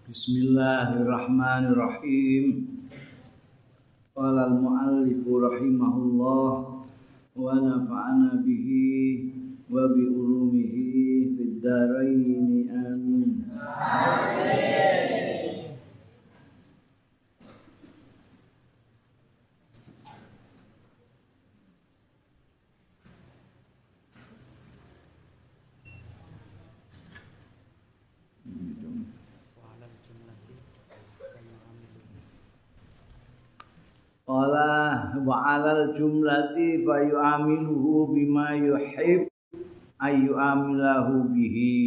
Bismillahirrahmanirrahim. Qala al-muallif rahimahullah wa nafa'ana bihi wa bi ulumihi fid dharain amin. Qala wa 'alal jumlati fa yu'amiluhu bima yuhib ayu amilahu bihi.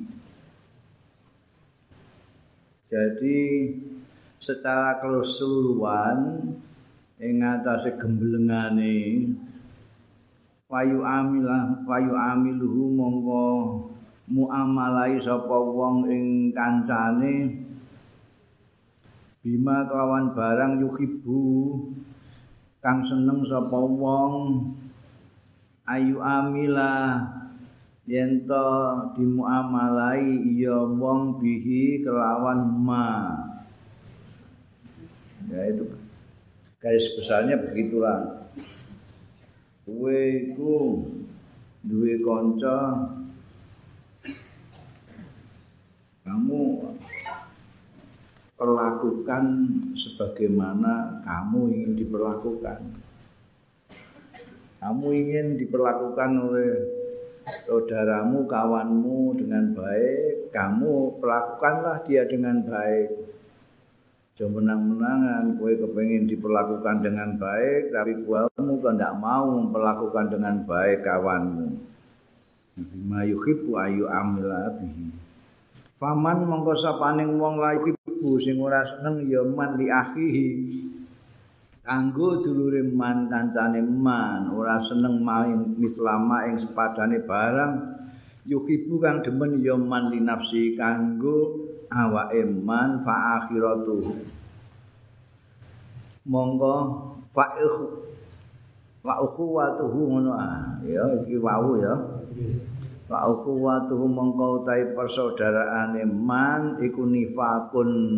Jadi secara keseluruhan ing atase gemblengane wa yu'amiluhu mongko muamalai sapa wong ing kancane bima kawan barang yuhibbu kang seneng sapa wong ayu amila yen to dimuamalai ya wong bihi kelawan ma. Ya itu garis besarnya begitulah. Kowe iku duwe kanca, kamu perlakukan sebagaimana kamu ingin diperlakukan. Kamu ingin diperlakukan oleh saudaramu, kawanmu dengan baik, kamu perlakukanlah dia dengan baik. Jangan menang-menangan, kowe kepengin diperlakukan dengan baik, tapi kamu kok ndak mau memperlakukan dengan baik kawanmu. Bima yuhibbu ayu amila bihi. Paman mongko sapaning wong lagi ibu sing ora seneng ya man li akhihi. Kanggo dulure man kancane man ora seneng main mislama ing sepadane barang yuhibu kang demen ya man li nafsi kanggo awake man fa akhiratu. Monggo fa ukhuwatuhu ngono ya iki wau ya. Wa ukhuwatuhu mongko utahe persaudaraane man iku nifak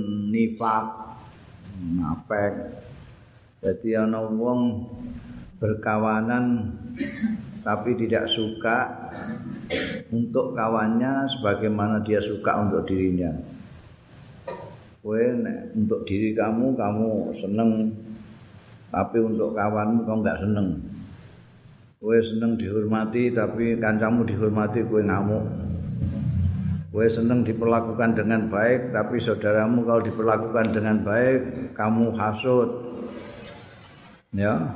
napek. Dadi ana wong berkawanan tapi tidak suka untuk kawannya sebagaimana dia suka untuk dirinya. Kowe nek untuk diri kamu seneng, tapi untuk kawanmu kau enggak seneng. Kowe seneng dihormati tapi kancamu dihormati kowe ngamuk. Kowe seneng diperlakukan dengan baik tapi saudaramu kalau diperlakukan dengan baik kamu hasud. Ya.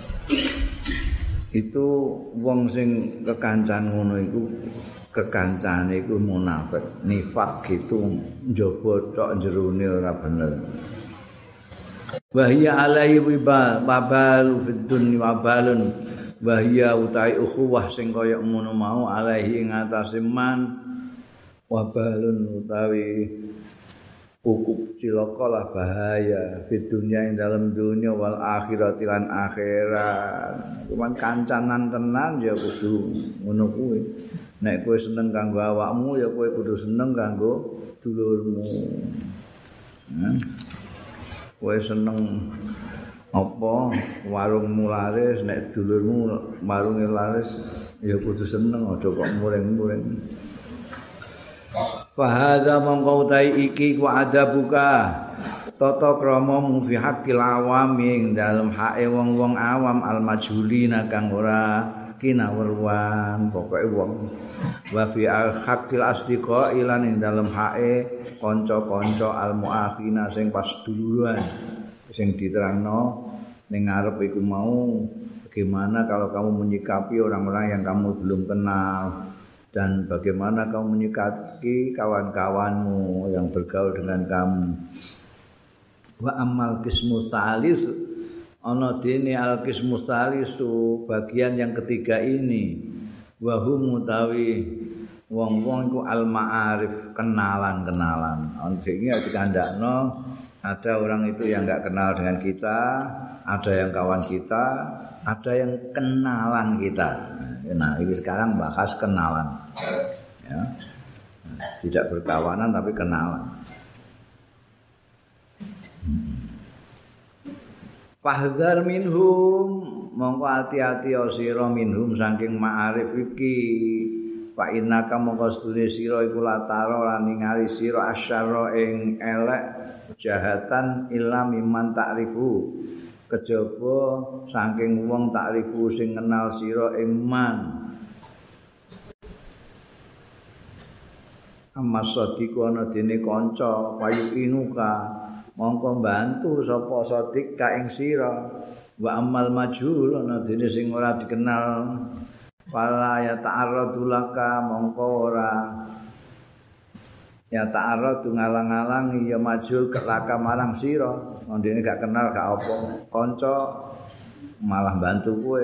Itu wong sing kekancan ngono iku kekancane iku munafik. Nifak gitu njaba tok jerone ora bener. Wa hiya alaihi wabalu fid dunya wabalun. Bahya utai ukhuwah sing kaya ngono mau alaihi ngatasi man wabalun utawi ukup cilaka lah bahaya fid dunya ing dalam dunya wal akhirat lan akhirat. Cuman kancanan tenan ya kudu ngono kuwi. Nek kowe seneng kanggo awakmu ya kowe kudu seneng kanggo dulurmu. Kowe seneng apa warungmu laris nek dulurmu warunge laris ya kudu seneng aja kok muring-muring. Fa hadza mangko iki ku adabuka tata kramamu fi haqqil awami dalem hake wong-wong awam al majhulina kang ora kinawruan pokoke wong wa fi haqqil asdiqa ilan ing dalem hake kanca-kanca al muakhina sing pas duluran sing diterangno ning ngarep iku mau bagaimana kalau kamu menyikapi orang-orang yang kamu belum kenal dan bagaimana kamu menyikapi kawan-kawanmu yang bergaul dengan kamu. Wa amal qismu salis ana dene al qismu salisu bagian yang ketiga ini wa hum mutawi wong-wong iku al ma'arif kenalan-kenalan. Sing dikandakno ada orang itu yang enggak kenal dengan kita, ada yang kawan kita, ada yang kenalan kita. Nah, ini sekarang bahas kenalan. Ya. Tidak berkawanan tapi kenalan. Fahdhar minhum mongko ati-ati sira minhum saking ma'arif iki. Fa innaka mongko sedune sira iku lataro lan ningali sira asyara ing elek kejahatan illa mimman ta'rifu. Kejaba saking wong ta'rifu sing kenal sira ing man. Amma sadiku ana dene kanca payu inuka mongko mbantu sapa sadik ka ing sira wa amal majhul ana dene sing ora dikenal fala ya ta'arradu laka mongko ora ya ta'arradu ngalang-alang ya majhul laka marang sira ndene gak kenal gak apa kanca malah bantu kowe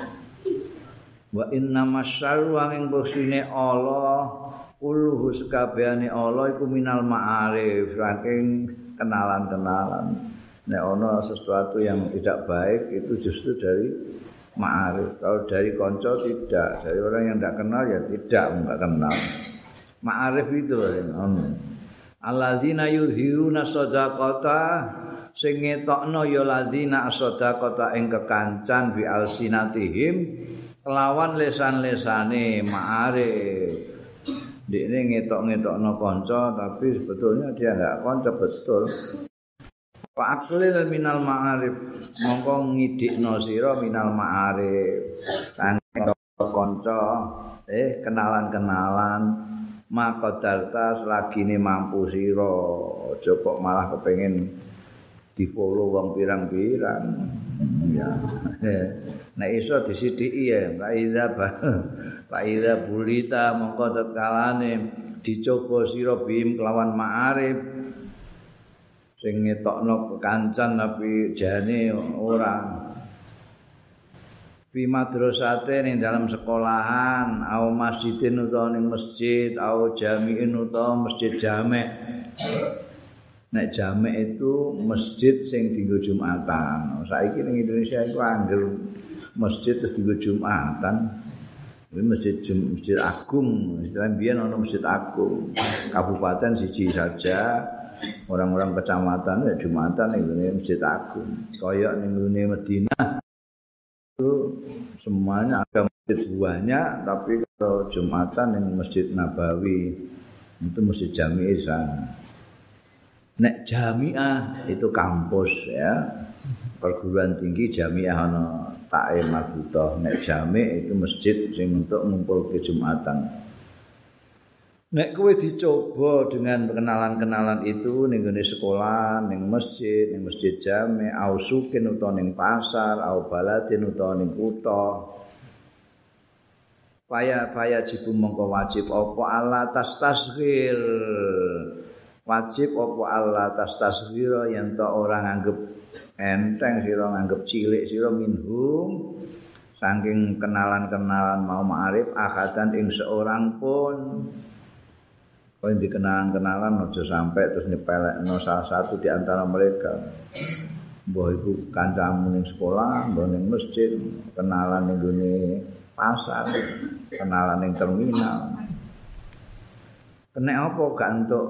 wa inna masyarru ing bosine Allah kulluhu sakabehane Allah iku minal ma'arif saking kenalan-kenalan. Nek ana sesuatu yang tidak baik itu justru dari ma'arif. Kalau dari konco tidak, dari orang yang tidak kenal ya tidak enggak kenal. Ma'arif itu alladzina yuzhiruna shadaqata sing ngetokno ya ladzina shadaqata ing kekancan bi alsinatihim kelawan lesan-lesane ma'arif. Dia ngetok-ngetokno kanca tapi sebetulnya dia enggak kanca betul. Fa aqlil minal ma'arif mongko ngidikno sira minal ma'arif. Saking kanca kenalan-kenalan maqadarta selagine mampu sira. Aja kok malah kepengin di-follow wong pirang-pirang. Ya. Nek iso disidiki ya, Pak Iza bulita mongko tetkalane dicoba sira bim kelawan ma'arif sing ngetokno kekancan tapi jane ora. Fi madrasate ning dalam sekolahan, au masjidin utawa ning masjid, au jami'in utawa masjid jamek. Nek jamek itu masjid sing dienggo Jumatan. Saiki ning Indonesia iku angger masjid terus dienggo Jumatan. Ini masjid agung, istilahnya biyen ana masjid agung. Kabupaten siji saja, orang-orang kecamatan ya Jumatan ning masjid agung. Kaya ning Madinah itu semuanya ada masjid banyak, tapi kalau Jumatan ning Masjid Nabawi itu masjid jami'ah sana. Nek jami'ah itu kampus ya. Perguruan tinggi jami'ah ana Ta'im Mabutoh. Nek jami' itu masjid sing untuk ngumpulke Jumatan. Nek kowe dicoba dengan kenalan-kenalan itu ning gone sekolah, ning masjid jami', au sukin utawa ning pasar, au baladin utawa ning kutha. Faya jibu mongko wajib apa Allah tasghir. Wajib apa Allah tasghira yen ta ora nganggep enteng sira nganggep cilik sira minhum saking kenalan-kenalan mau ma'arif akadan ing seorang pun. Kowe dikenalan-kenalan aja sampai terus nyepelekno salah satu di antara mereka. Mbah iku kancamu ning sekolah, mbah ning masjid, kenalan ning gone pasar, kenalan ning terminal. Kena apa gak entuk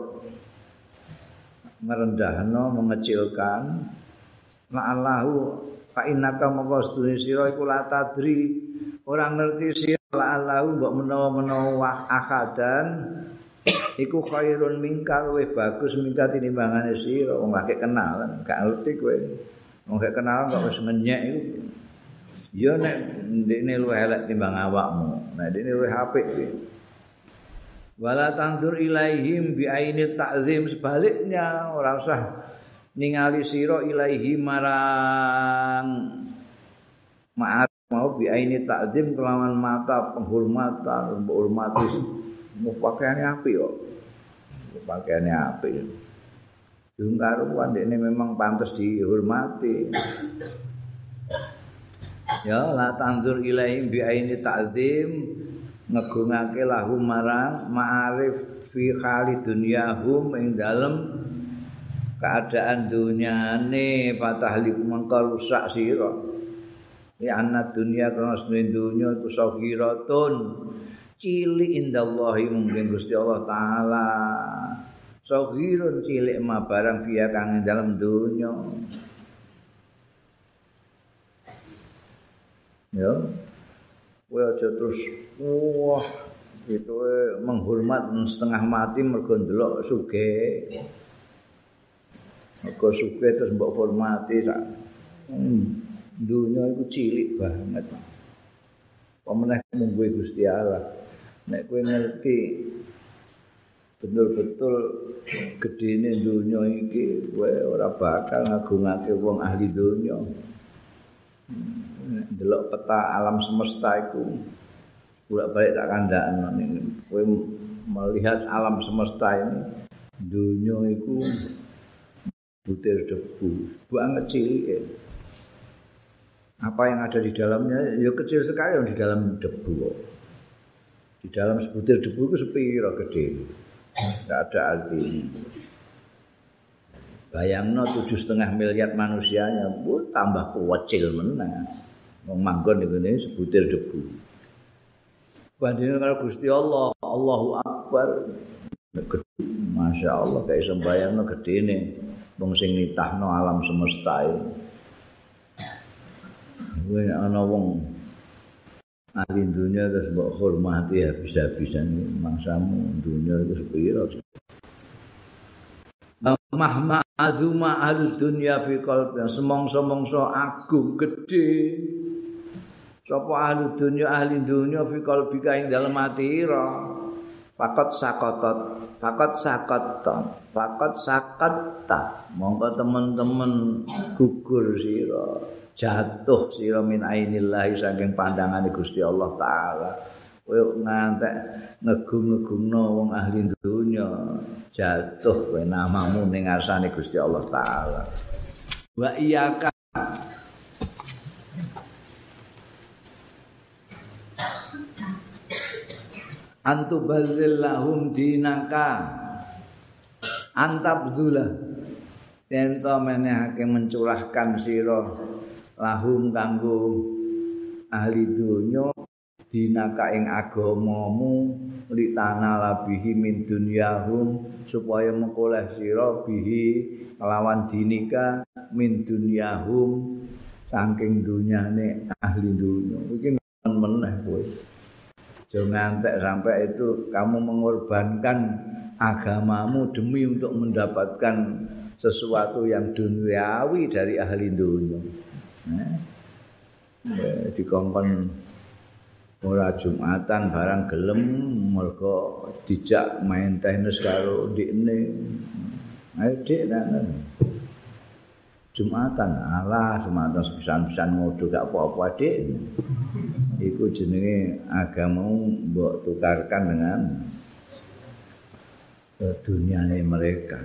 merendahno mengecilkan la'allahu fa innaka mongko sedune sira iku la tadri ora ngerti sira la'allahu mbok menawa-menawa akadan iku khairun mingkal luwih bagus mingkat tinimbangane sira wong gak kenalan gak ngerti kowe wong gak kenalan kok wis ngenyek iku ya nek ndekne luwih elek timbang awakmu nek ndekne luwih apik kuwi wala tandur ilaihim bi ainit ta'zim sebaliknya ora usah ningali sira ilaihi marang maaf mau bi ainit ta'zim kelawan mata penghormatan menghormati pakaiane apik kok pakaiane apik dung karuan dekne memang pantes dihormati ya la tandur ilaihim bi ainit ta'zim ngegungake lahum marang ma'arif fi khali dunyahum ing dalem keadaan dunyane fatahlik mengko rusak sira ya ana dunya kana dunya iku sagiratun cilik indallahi mungkin Gusti Allah taala sagirun cilik ma barang fiya kang ing dalem dunya Ya. Kowe aja terus wah itu menghormat setengah mati mergo ndelok sugih. Mergo sugih terus mbok hormati sak. Dunya iku cilik banget. Pemenah mungguhe Gusti Allah. Nek kowe ngerti betul-betul gedene dunya iki, kowe ora bakal ngagungake wong ahli dunya. Delok peta alam semesta iku bolak-balik tak kandhakno ning kowe melihat alam semesta ini dunya iku butir debu banget cilik. Apa yang ada di dalamnya ya kecil sekali di dalam debu. Di dalam sebutir debu itu sepiro gede. Enggak ada artinya. Bayangno 7,5 miliar manusianya, tambah kecil meneh. Wong manggon ngene sebutir debu. Bandingane karo Gusti Allah, Allahu Akbar. Masya Allah kayak sembayangno gedene wong sing nitahno alam semesta iki. Kowe ana wong ahli dunia terus mbok hormati habis-habisan mangsamu dunia itu sepiro. Mahma azuma ahli dunia fi qalbi semongso-mongso agung gedhe sapa ahli dunia fi qalbi ing dalem atira fakot sakatta monggo teman-teman gugur sira jatuh sira min ainillahi saking pandangane Gusti Allah taala kowe ngantek ngegung-ngegungno wong ahli dunya jatuh kowe namamu ning ngarsane Gusti Allah taala wa iyyaka antuballillahum dinaka antabdzulah ento menehake mencurahkan sira lahum kanggo ahli dunya dinaka ing agamamu litana labihi min dunyahum supaya mengkoleh sira bihi kelawan dinika min dunyahum saking dunyane ahli dunya iki meneh kowe aja ngantek sampai itu kamu mengorbankan agamamu demi untuk mendapatkan sesuatu yang duniawi dari ahli dunya. Dikongkon ora Jumatan barang gelem mergo dijak main tenis karo ndikne. Ayo Dik nang Jumatan alah Jumatan sepisan-pisan ngodo gak apa-apa Dik. Iku jenenge agamamu mbok tukarkan dengan duniane mereka.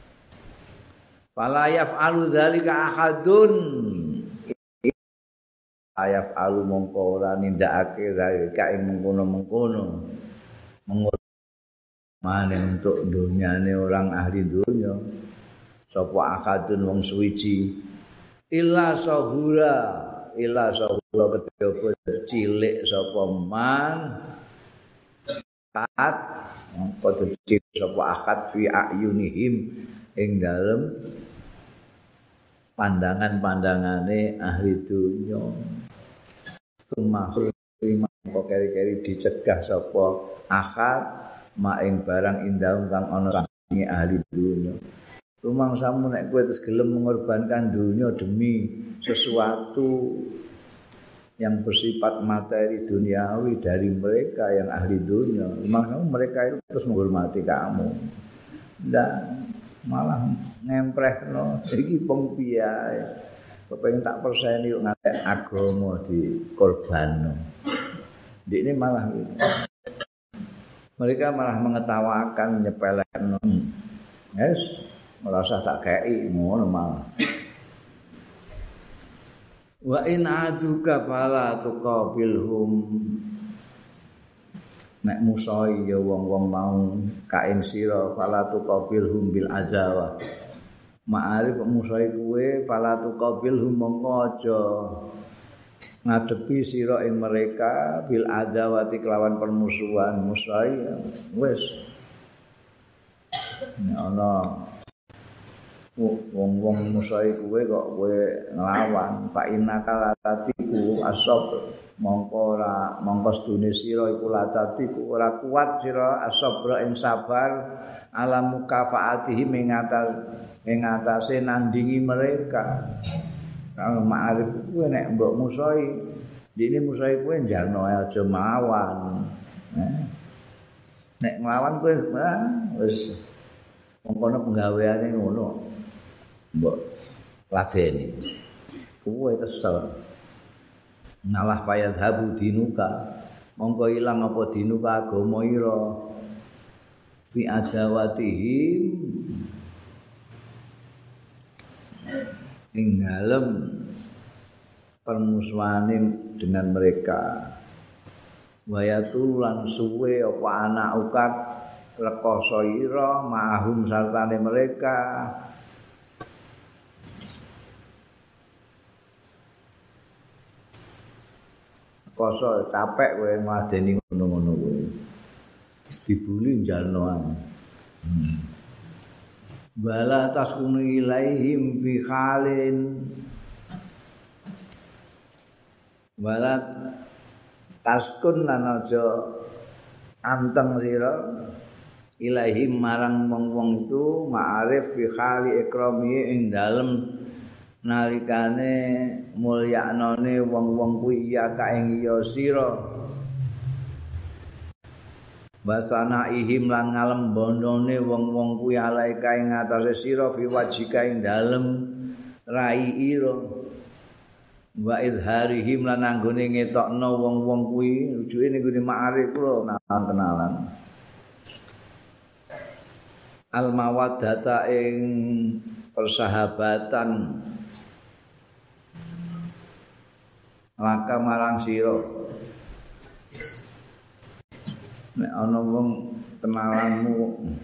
Fala yaf'alu dzalika ahadun. Ayaf'alu mongko ora nindakake dzalika ing mengkono-mengkono. Maning untuk dunyane orang ahli dunya. Sapa ahadun wong suwiji illa sahura kejaba cilik sapa man kat mongko cilik sapa akad fi ayunihim ing dalem pandangan-pandangane ahli dunya kumahul mongko keri-keri dicegah sapa akad maing barang indahum kang ana ing ahli dunya rumangsamu nek kowe terus gelem mengorbankan dunia demi sesuatu yang bersifat materi duniawi dari mereka yang ahli dunia. Rumangsamu mereka itu terus menghormati kamu. Ndak malah ngemprehno iki wong piye. Kepengin tak perseni yo ngantek agama dikorbanno. Ndikne malah gitu. Mereka malah mengetawakan nyepelekno. Yes. Merasa tak kei ngono malah. Wa in aduka fala tuqabilhum. Nek musai ya wong-wong mau kain sira fala tuqabilhum bil adawa. Ma'arif musai kuwe fala tuqabilhum mongko aja ngadepi sira ing mereka bil adawati kelawan permusuhan musai wis. Ana wong-wong musuhe kowe kok kowe nglawan fa innaka latatiku asab mongko sedune sira iku latatiku ora kuat sira asabra ing sabar alam mukafaatihi ing atase nandingi mereka. Kalau ma'arif kowe nek mbok musuhi dene musuhi kowe njalno aja mawan. Nek nglawan kowe wis mongkono penggaweane ngono. Mbok ladeni. Kowe kesel. Ngalah fayadhabu dinuka. Mongko ilang apa dinuka agama ira. Fi adawatihim ing dalem permusuhane dengan mereka. Wayatul lan suwe apa anak ukat rekoso ira mahum sartane mereka. Koso capek kowe ngladeni ngono-ngono kowe. Dibuli njalno ae. Bala taskunu ilaihim fi khalin. Bala taskun lan aja anteng sira ilaihim marang wong-wong itu ma'arif fi khali ikrami ing dalem nalikane mulyanane wong-wong kuwi ya ka ing ya sira basana ihim lan ngalem bondone wong-wong kuwi alaika ing atase sira fi wajika ing dalem rai ira wa idharihim lan anggone ngetokno wong-wong kuwi rujuke ning gone ma'arif lho kenalan al mawaddata ing persahabatan laka marang sira nek ana wong kenalanmu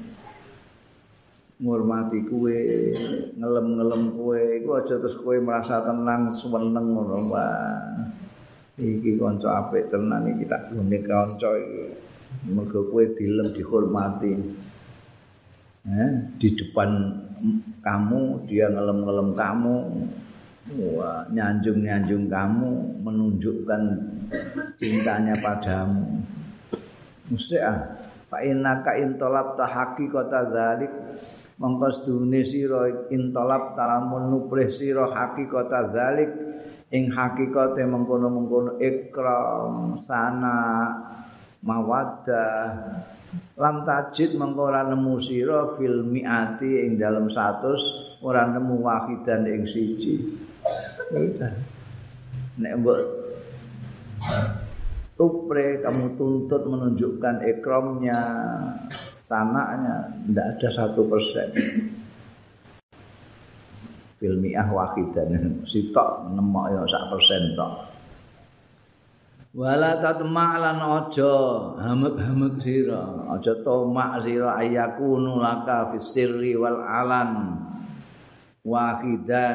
ngurmati kowe ngelem-ngelem kowe iku aja terus kowe merasa tenang seneng ngono wae iki kanca apik tenan iki tak gone kanca iki mergo kowe dilem dihormati di depan kamu dia ngelem-ngelem kamu wah nyanjung-nyanjung kamu menunjukkan cintanya padamu mesti fa innaka intolab ta haqiqata dzalik mongko sedune sira intolab talamun nuprih sira haqiqata dzalik ing hakikate mengkono-mengkono ikram sana mawaddah lam tajid mengko ora nemu sira fil miati ing dalem 100 ora nemu wahidan ing siji nek mbok tupre kamu tuntut menunjukkan ikramnya sanaknya tidak ada 1% fil mi'ah wahidan sitok nemok ya 1% tok wala tatma lan aja hamek-hamek sira aja tomak sira ayakunu laka fis sirri wal alan wahidan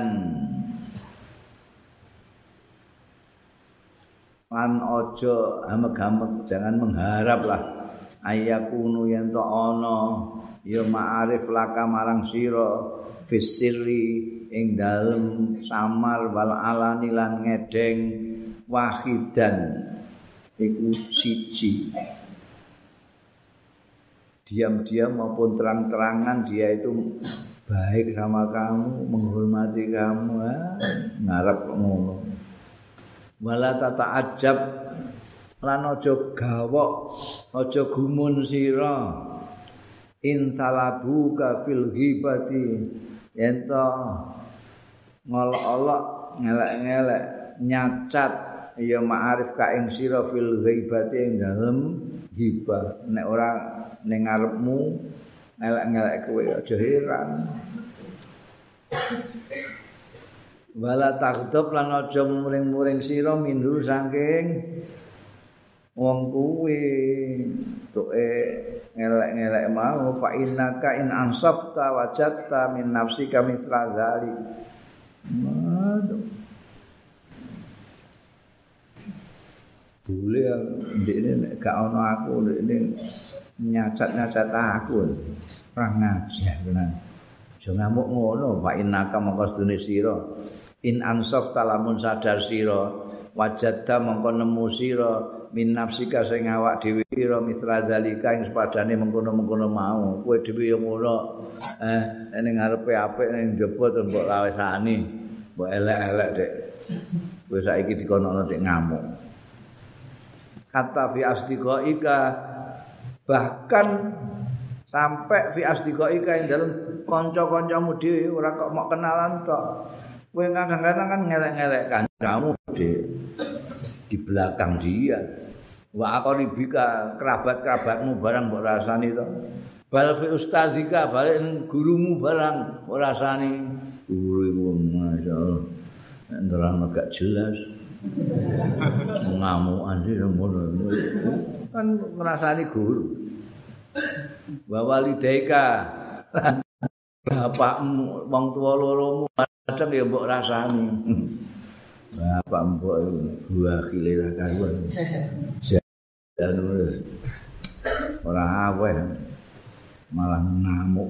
lan aja hamek-hamek jangan mengharaplah ayakunu yen to ana ya ma'arif laka marang sira fis sirri ing dalem samar wal alani lan ngedeng wahidan iku siji diam-diam maupun terang-terangan dia itu baik sama kamu menghormati kamu ngarep ngono wala tata'ajab lan aja gawok aja gumun sira intalabuka fil ghibati yen to ngolok-olok ngelek-ngelek nyacat ya ma'arif ka ing sira fil ghibati ing dalem hibah nek ora ning ngarepmu ngelek-ngelek kowe aja heran wala takdub lan aja muring-muring sira mindu saking wong kuwi tuke ngelek-ngelek mau fa innaka in ansafta wajadta min nafsika mithla dzalik boleh ndekne nek gak ono aku ndekne nyacat-nyacat aku ora ngajar tenan aja ngamuk ngono fa innaka mongko sedune sira in ansaf talamun sadar sira wajadta mongko nemu sira min nafsika sing awak dhewe sira mitra zalika ing sepadane mengkono-mengkono mau kowe dhewe yo ngono ning ngarepe apik ning njaba terus mbok lawesani mbok elek-elek dek kowe saiki dikono nek ngamuk kata fi asdiqaika bahkan sampai fi asdiqaika ing dalem kanca-kancamu dhewe ora kok mok kenalan tok kowe kadang-kadang kan ngelek-ngelek kancamu di belakang dia wa aqribika kerabat-kerabatmu barang mbok rasani to bal fi ustadzika balik gurumu barang mbok rasani guru masyaallah nerang agak jelas ngamukan sih ngono kan ngrasani guru wa walidaika bapakmu wong tuwa loromu kadang ya mbok rasani bapak mbok buah khilirah karuan dan ora aweh malah ngamuk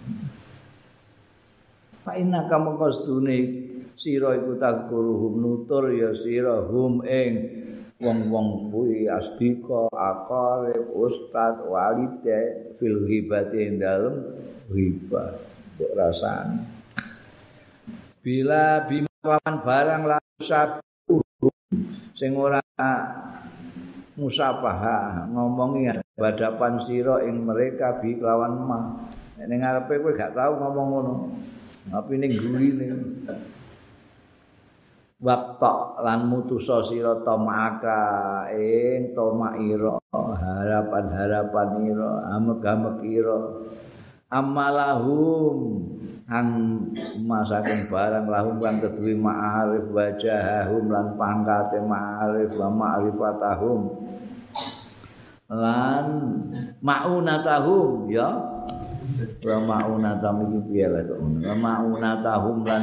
fa inna kamu kostune sira iku takruhum nutur ya sira hum ing wong-wong kuwi asdika aqarib ustad walide fil ghibati dalem ghibah mbok rasane bila bimawan barang lasat sing ora musafahah ngomongi hadapan sira ing mereka bi kelawan mah ning ngarepe kowe gak tau ngomong ngono tapi ning gurine waktu lan mutusa sira tamaka ing tomaira harapan-harapan ira amek-amek ira amalahum ang masaking barang lahum lan kedue ma'arif wajahahum lan pangkate ma'arif wa ma'rifatahum lan ma'unatahum ya wa ma'unatahum iki piye lho wa ma'unatahum lan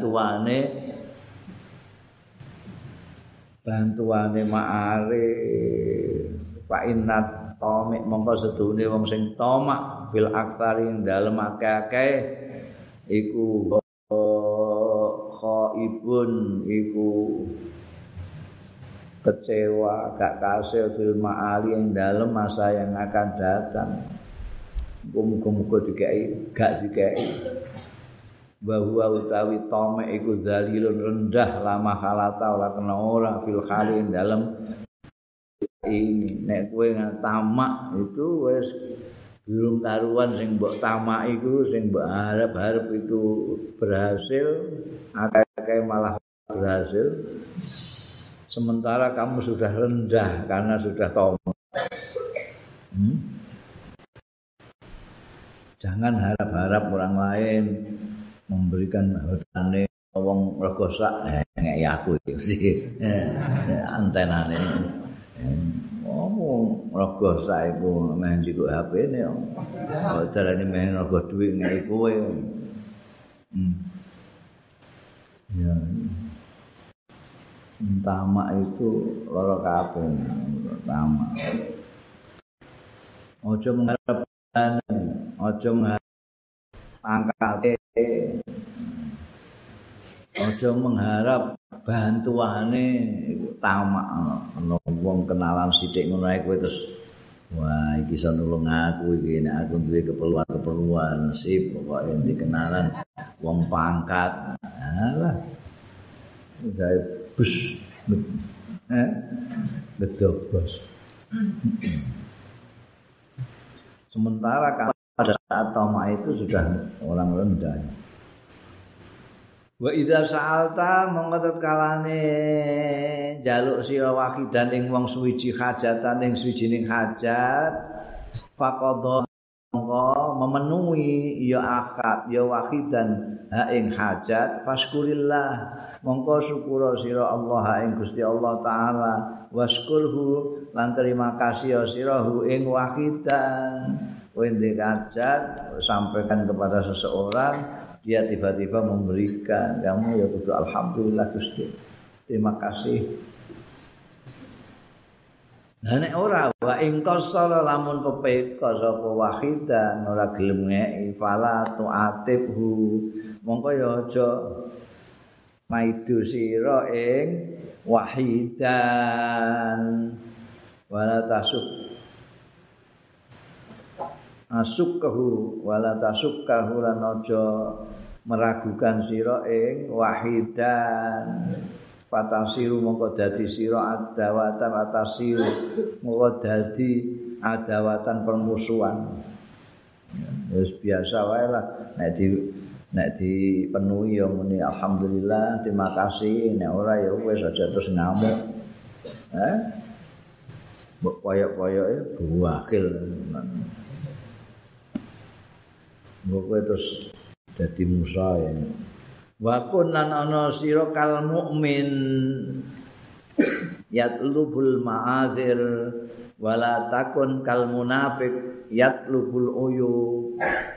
bantuane ma'arif fa innat tamik mongko sedune wong sing tamak fil aktsari dalem akeh-akeh iku khaibun iku kecewa gak kasil fil ma'ali yang dalam masa yang akan datang muga-muga dikai gak dikai bahwa utawi tome iku dalilun rendah lama halata ora kena ora fil khali dalam ini nek kowe tamak itu wis belum karuan sing mbok tamak iku sing mbok harap-harap itu berhasil akeh malah berhasil sementara kamu sudah rendah karena sudah tamak jangan harap-harap orang lain memberikan hartane wong rego sak ngeki aku iki antenane ngomong rego sak iku meh njikuk HP-ne kok carane meh rego dhuwit ngeki kowe ya tamak itu lara kabeh tamak aja mengharap aja pangkate aja mengharap bantuane iku tamak ana wong kenalan sithik ngono ae kowe terus wah iki iso nulung aku iki nek aku duwe keperluan sip pokoke dikenalan wong pangkat alah gawe bus betul bos sementara pada saat tamak itu sudah orang rendah. Wa idza sa'alta mongko kalane njaluk sira wahidan ing wong suwiji hajatan ing suwijining hajat faqadha mongko memenuhi ya akad ya wahidan ha ing hajat faskurillah mongko syukur sira Allah ing Gusti Allah taala waskurhu lan terima kasih sira ing wahidan wende hajat sampaikan kepada seseorang dia tiba-tiba memberikan kamu ya kudu alhamdulillah Gusti terima kasih Lah nek ora wa ing qasara lamun pepeka sapa wahidan ora gelem ngeki fala tu'atibhu mongko ya aja maidu sira ing wahidan wala tasukkahu lan aja meragukan sira ing wahidan patasiru mongko dadi sira adawatan atasiru mongko dadi adawatan permusuhan wis biasa wae lah nek dipenuhi ya muni alhamdulillah terima kasih nek ora ya wis aja terus ngamuk mbok koyok-koyoke buakil mbok terus dadi musa ya wa kun lan ana sira kal mukmin yatlubul ma'adzir wala takun kal munafiq yatlubul uyub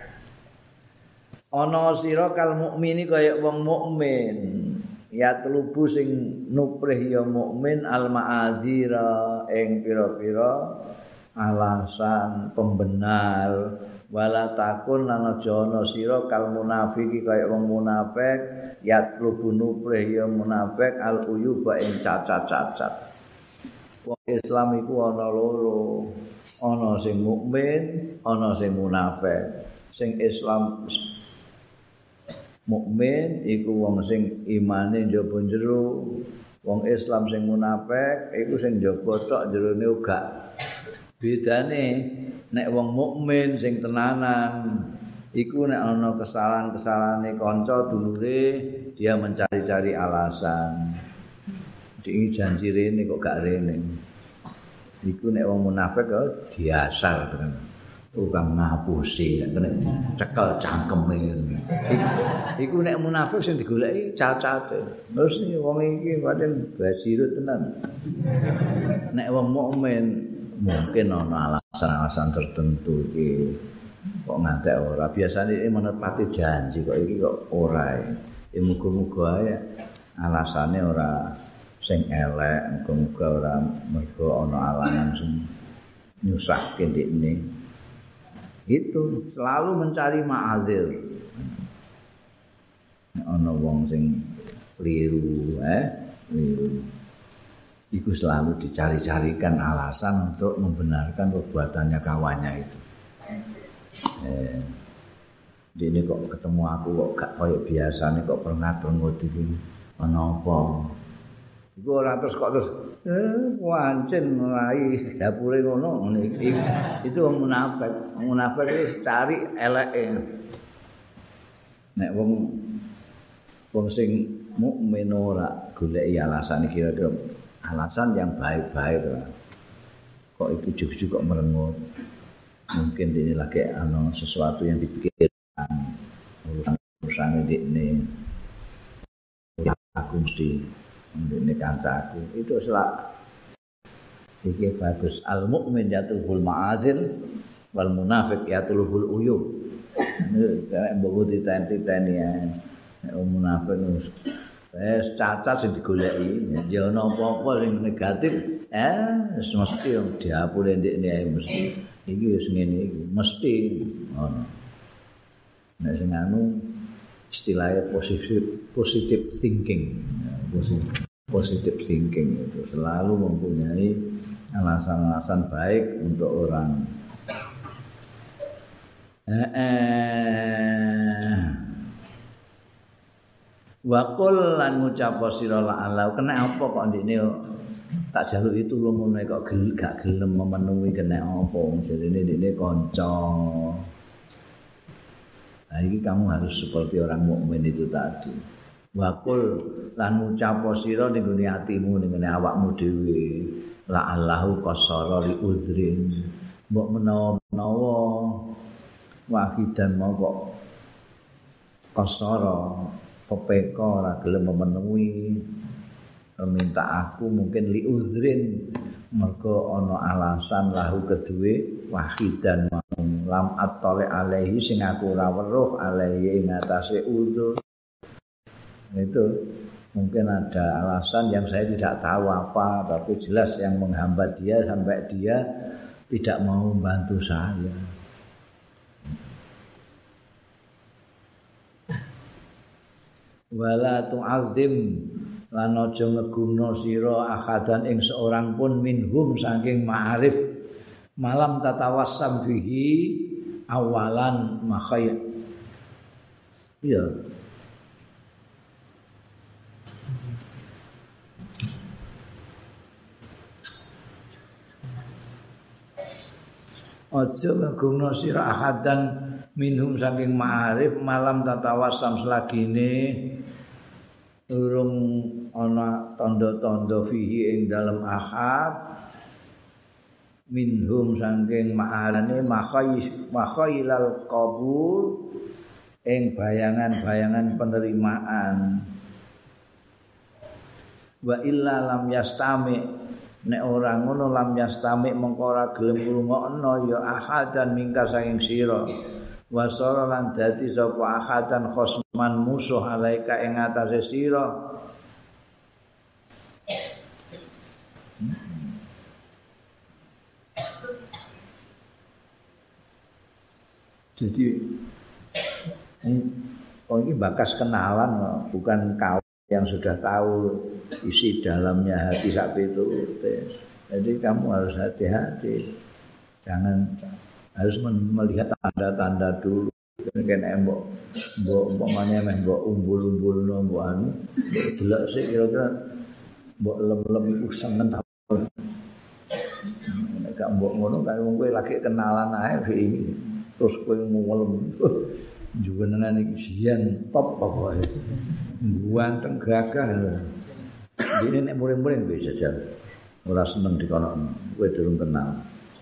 ana sira kal mukmini kaya wong mukmin yatlubu sing nuprih ya mukmin al ma'adzira ing pira-pira alasan pembenar wala takun lan aja ana sira kal munafiki kaya wong munafik yatlubu nuprih ya munafik al uyuba ing cacat-cacat. Wong Islam iku ana loro, ana sing mukmin, ana sing munafik. Sing Islam mukmin iku wong sing imane njaba jero, wong Islam sing munafik iku sing njaba tok jerone uga. Bedane nek wong mukmin sing tenanan iku nek ana kesalahan-kesalahane kanca dulure dia mencari-cari alasan. Iki janji rene kok gak rene. Iku nek wong munafik kok diasar tenan. Tukang ngapusi kena cekel cangkeme. Iku nek munafik sing digoleki cacate. Terus wong iki pancen basirut tenan. Nek wong mukmin mungkin ana alasan-alasan tertentu iki kok ngantek ora biasane menepati janji kok iki kok ora ya muga-muga ae alasane ora sing elek muga-muga ora mergo ana alangan sing nyusahke ndekne itu selalu mencari ma'adzir ana wong sing keliru itu selalu dicari-carikan alasan untuk membenarkan perbuatannya kawannya itu. Ini kok ketemu aku kok gak kayak biasa nih kok pernah-pernah iki ana apa? Iku ora terus kok terus wancen rai dapure ngono iki. Itu wong munafik. Wong munafik iki cari eleke. Nek wong sing mukmin ora goleki alasan kira-kira alasan yang baik-baik lah. Kok itu juga kok merengut. Mungkin ini lagi sesuatu yang dipikirkan urusan ini. Aku mesti ini kancaku. Itu selak. Iki bagus. Al mukmin yatlubul ma'adzir wal munafiq yatlubul uyub. Ini kayak mbok diteni-teni ya. Munafik cacat sing digoleki ya ana apa-apa sing negatif mesti diapure ndekne mesti iki wis ngene iki mesti ngono nek sing anu istilahnya positive thinking positive thinking itu selalu mempunyai alasan-alasan baik untuk orang wa qul lan ngucap sira la Allah kena apa kok ndekne tak jaluki tulung ngono kok gak gelem memenuhi kena apa jarene ndekne kanca. Nah iki kamu harus seperti orang mukmin itu tadi. Wa qul lan ngucap sira ning gone atimu ning gone awakmu dhewe la Allahu qasara li udrin mbok menawa wahidan mau kok qasara pepeka ora gelem memenuhi minta aku mungkin li udrin mergo ana alasan lahu kedue wahidan lam attali alaihi sing aku ora weruh alaihi ing atase udzur Itu mungkin ada alasan yang saya tidak tahu apa, tapi jelas yang menghambat dia sampai dia tidak mau membantu saya. Wala tu'adzim lan aja ngegumno sira akhadan ing seorang pun minhum saking ma'arif malam tatawassam bihi awalan makhay. Iya. Aja ngegumno sira akhadan minhum saking ma'arif malam tatawassam selagine urung ana tanda-tanda fihi ing dalem ahad minhum saking ma'arane makhailal qabul ing bayangan-bayangan penerimaan wa illa lam yastami nek ora ngono lam yastami mengko ora gelem ngrungokno ya ahadan mingka saking sira wasara lan dadi sapa ahadan khosman musuh alaika ing atase sira. Jadi ini bakas kenalan, bukan kawan yang sudah tahu isi dalamnya hati sapi itu. Jadi kamu harus hati-hati, jangan harus melihat tanda-tanda dulu. Kene mbok umpamane mbok umbul-umbul mbok anu, delok sik kira-kira mbok lem-lem iku seneng ta. Nek gak mbok ngono kan wong kowe lagi kenalan ae iki. Terus kowe ngulem. Juwenan iki sian top pokoke. Ganteng gagah lho. Dene nek muring-muring wis jajal. Ora seneng dikono kowe durung kenal.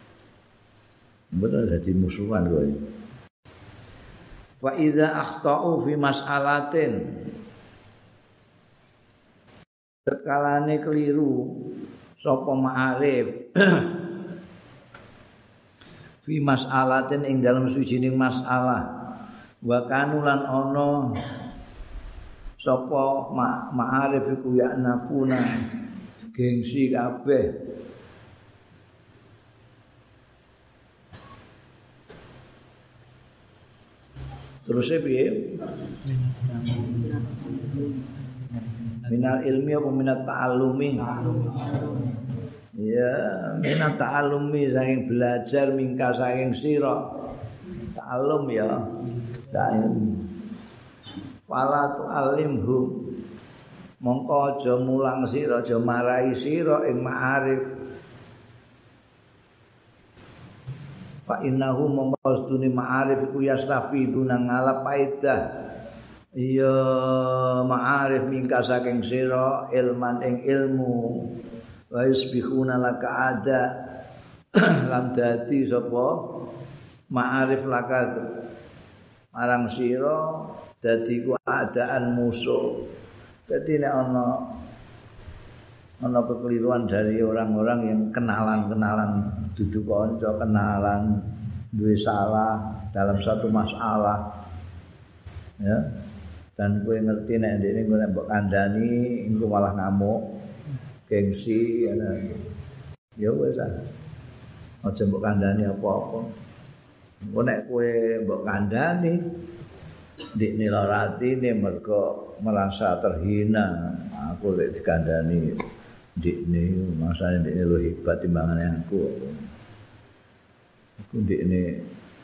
Betul jadi musuhan kowe. Wa idza akhta'u fi mas'alatin sekalane keliru sapa ma'arif fi mas'alatin ing dalam suwijining masalah wa kanulan ana sapa ma'arif iku ya nafuna gengsi kabeh terus piye minal ilmi apa minat ta'allumi ya minat ta'allumi saking belajar mingka saking sira ta'allum ya ta'allum fala tu'allimhu mongko aja mulang sira aja marai sira ing ma'arif fa innahu maqasduni ma'arif ku yastafiduna ngalap faedah ya ma'arif mingka saking sira ilman ing ilmu wa yusbihuna laka ada lan dadi sapa ma'arif laka marang sira dadi ku adaan musuh. Dadi nek ana kekeliruan dari orang-orang yang kenalan duduk kanca kenalan duwe salah dalam satu masalah ya dan kowe ngerti nek ndekne kowe mbok kandhani engko malah ngamuk gengsi ya wis aja mbok kandhani apa-apa engko nek kowe mbok kandhani ndekne lara atine mergo merasa terhina aku lek dikandhani ndekne masane ndekne lu hebat timbangane aku ndekne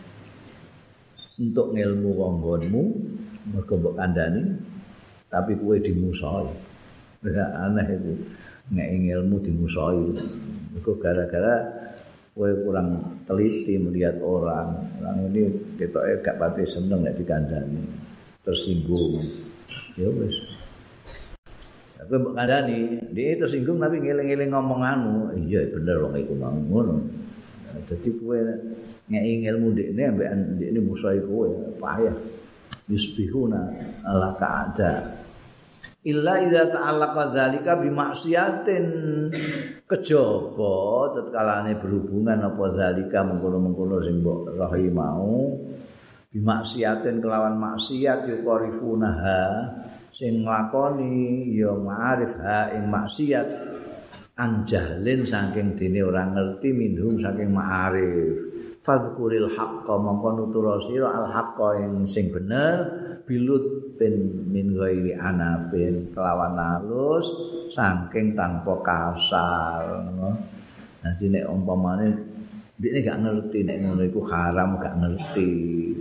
untuk ngilmu wonggonmu mergo mbok kandhani tapi kowe dimusuhi ora aneh itu nek ilmu dimusuhi mergo gara-gara kowe kurang teliti melihat orang ini ketoke gak pati seneng nek dikandhani tersinggung ya wis aku mbok kandhani dia tersinggung tapi ngeling-eling ngomonganmu iya bener wong iku mau ngono dadi kowe nek ilmu ndekne ambek ndekne musuhi kowe payah yusbihuna ala ka'ada illa idza ta'allaqa dzalika bi maksiatin kejaba tetkalane berhubungan apa dzalika mengkono-mengkono sing mbok rahi mau bi maksiatin kelawan maksiat yuqarifunaha sing nglakoni ya ma'arif ha ing maksiat anjahlin saking dene ora ngerti minhum saking ma'arif fadhkuril haqqa mongko nutura sira al haqqa ing sing bener bilut min ghairi anafin kelawan halus saking tanpa kasar. Nanti nek umpamane dhekne gak ngerti nek ngono iku haram gak ngerti.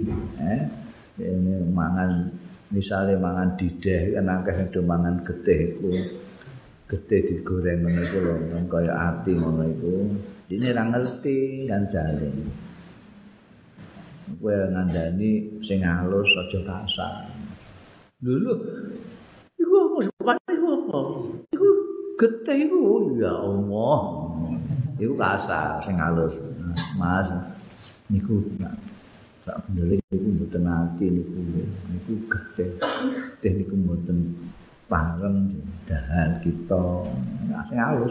Ini mangan misale mangan dideh kan akeh sing do mangan getih iku. Getih digoreng ngono iku lho kaya ati ngono iku. Dhekne ora ngerti kan jane. Kowe ngandani sing halus aja kasar. Lho iku apa iku apa? Iku getih iku ya Allah. Iku kasar sing halus. Mas niku sak bener niku mboten ati niku getih. Getih niku mboten pareng dahar kita sing halus.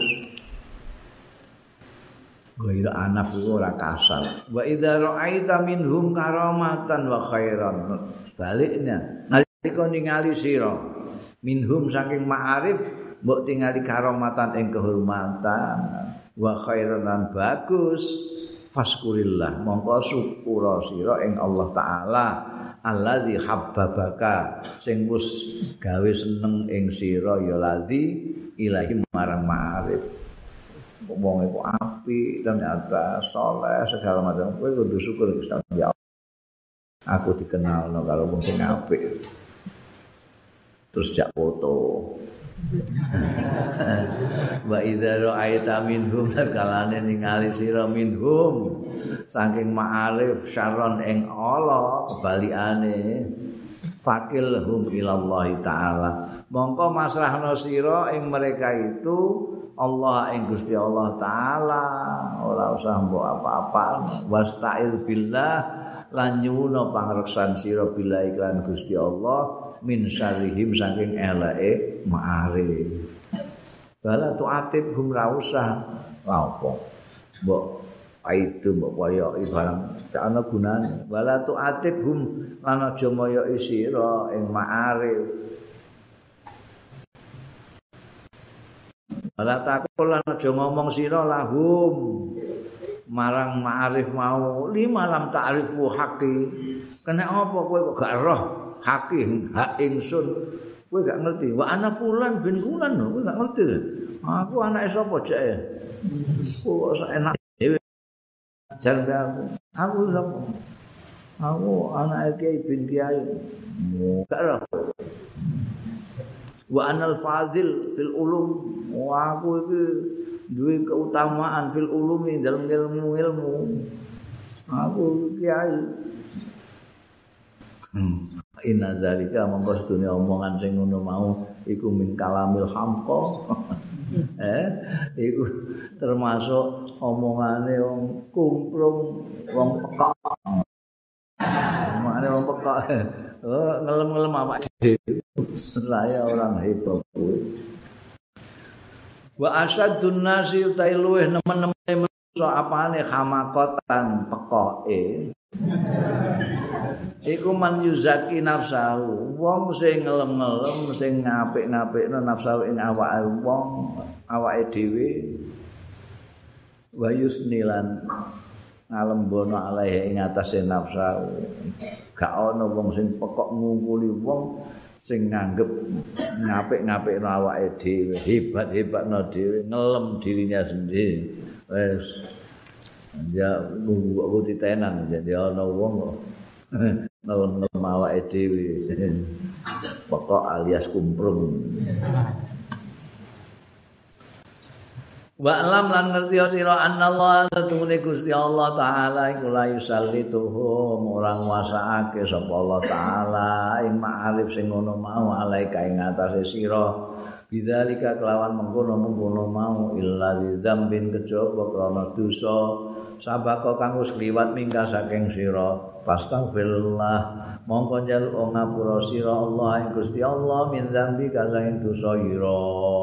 Gaira anaf iku ora kasar. Wa idza ra'aita minhum karamatan wa khairan. Baliknya nalika ningali sira minhum saking ma'arif mbok tingali karamatan ing kehormatan wa khairan lan bagus faskurillah mongko syukur sira ing Allah taala allazi habbabaka sing wis gawe seneng ing sira ya ladzi ilahi marang ma'arif. Wong iku apik ternyata saleh segala macam kowe kudu syukur Gusti Allah. Aku dikenalno karo wong sing apik. Terus jak foto. Wa idza ra'aita minhum kalane ningali sira minhum saking ma'arif syarron ing Allah kebalikane fakilhum ilallahi taala mongko masrahno sira ing mereka itu Allah ing Gusti Allah taala ora usah mbok apa-apa wasta'il billah lan nyuwuna pangreksan sira billah iklan Gusti Allah min syarrihim saking eleke ma'arif bala tu'atib hum ra usah apa mbok itu mbok koyo barang gak ana gunane bala tu'atib hum lan aja moyoki sira ing ma'arif Ala takul lan aja ngomong sira lahum marang ma'arif mau lima lam ta'rifu haqqi. Kena apa kowe kok gak roh haqqi hak ingsun. Kowe gak ngerti. Wa ana fulan bin fulan kowe gak ngerti. Aku anake sapa jeke? Kok enak dhewe. Jar aku sapa? Aku anake Kiai bin Kiai. Gak roh. Wa anal fadil fil ulum wa aku iki duwe keutamaan fil ulumi dalam ilmu aku kiai inna zalika mongko sedune omongan sing ngono mau iku min kalamil hamqa iku termasuk omongane wong kumplung wong pekak omongane wong pekak ngelem-ngelem awak dhewe saya orang hebat kuwi wa asyadun nasi utai luweh nemen-nemen manusa apane hamakotan pekoke iku man yuzaki nafsahu wong sing ngelem-ngelem sing ngapik-ngapikno nafsu ing awake wong awake dhewe wa yusnilan ngalembono alaihi ing atase nafsu gak ana wong sing pekok ngungkuli wong sing nganggep ngapik-ngapikno awake dhewe, hebat-hebatno dhewe, ngelem dirinya sendiri. Wes ya aku ditenan jadi ana wong kok ngelem awake dhewe. Pokok alias kumprung. Wa alam lan ngerti sira anallah satune Gusti Allah taala iku la yusallituhum ora nguasaake sapa Allah taala ing ma'arif sing ngono mau alaika ing atase sira bidzalika kelawan mengkono-mengkono mau illa lidzambin kejaba krana dosa sabaka kang wis kliwat mingka saking sira pastaghfirullah mongko njaluk ngapura sira Allah ing Gusti Allah min dzambi kasaing dosa ira.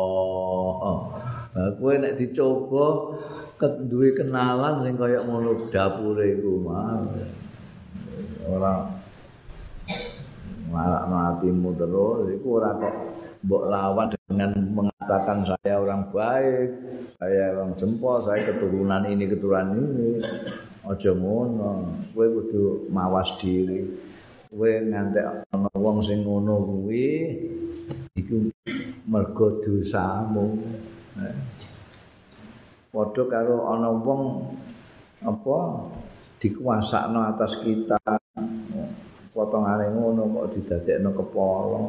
Kowe nek dicoba duwe kenalan sing kaya ngono dapure iku mah. Ora Ngalakno atimu terus iku ora kok mbok lawan dengan mengatakan saya orang baik, saya orang jempol, saya keturunan ini. Aja ngono. Kowe kudu mawas diri. Kowe ngantek ana wong sing ngono kuwi iku mergo dosamu. Padha karo ana wong apa dikuasakno atas kita. Potongane ngono kok didadekno kepala.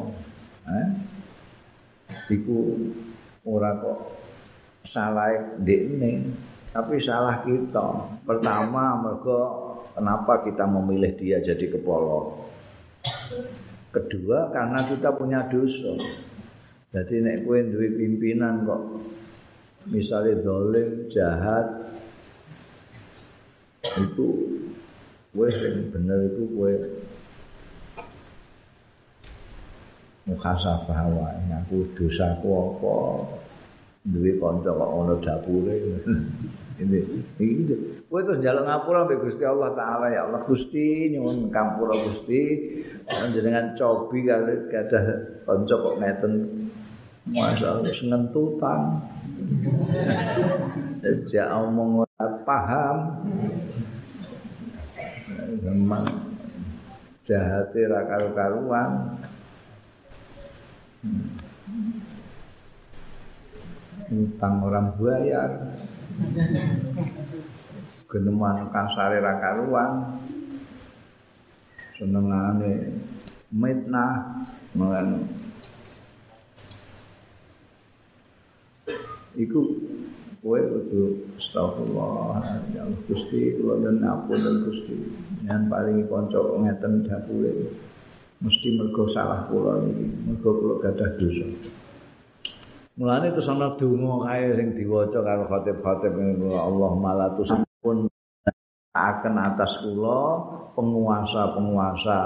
Iku ora kok salah ndekne, tapi salah kita. Pertama mergo kenapa kita memilih dia jadi kepala. Kedua karena kita punya dosa. Jadi nek kowe duwe pimpinan kok misalnya dolim, jahat, itu kowe sing bener iku kowe muhasabah wae aku dosaku apa duwe kanca kok ono dapure ini kowe terus njaluk ngapura mbek Gusti Allah taala ya Allah Gusti nyuwun ngampura Gusti panjenengan cobi kali gadah kanca kok ngeten masalah senentutan sejak omong ora paham memang jahate ra karu-karuan utang orang bayar geneman kasare ra karuan senengane mitnah mengan iku kowe kudu astagfirullah ya Allah Gusti kula nyuwun ngapunten Gusti yen paringi kanca ngeten dapure mesti mergo salah kula iki mergo kula gadah dosa. Mulane terus ana donga kae sing diwaca karo khatib-khatib Allahumma la tusampun akan atas kula penguasa-penguasa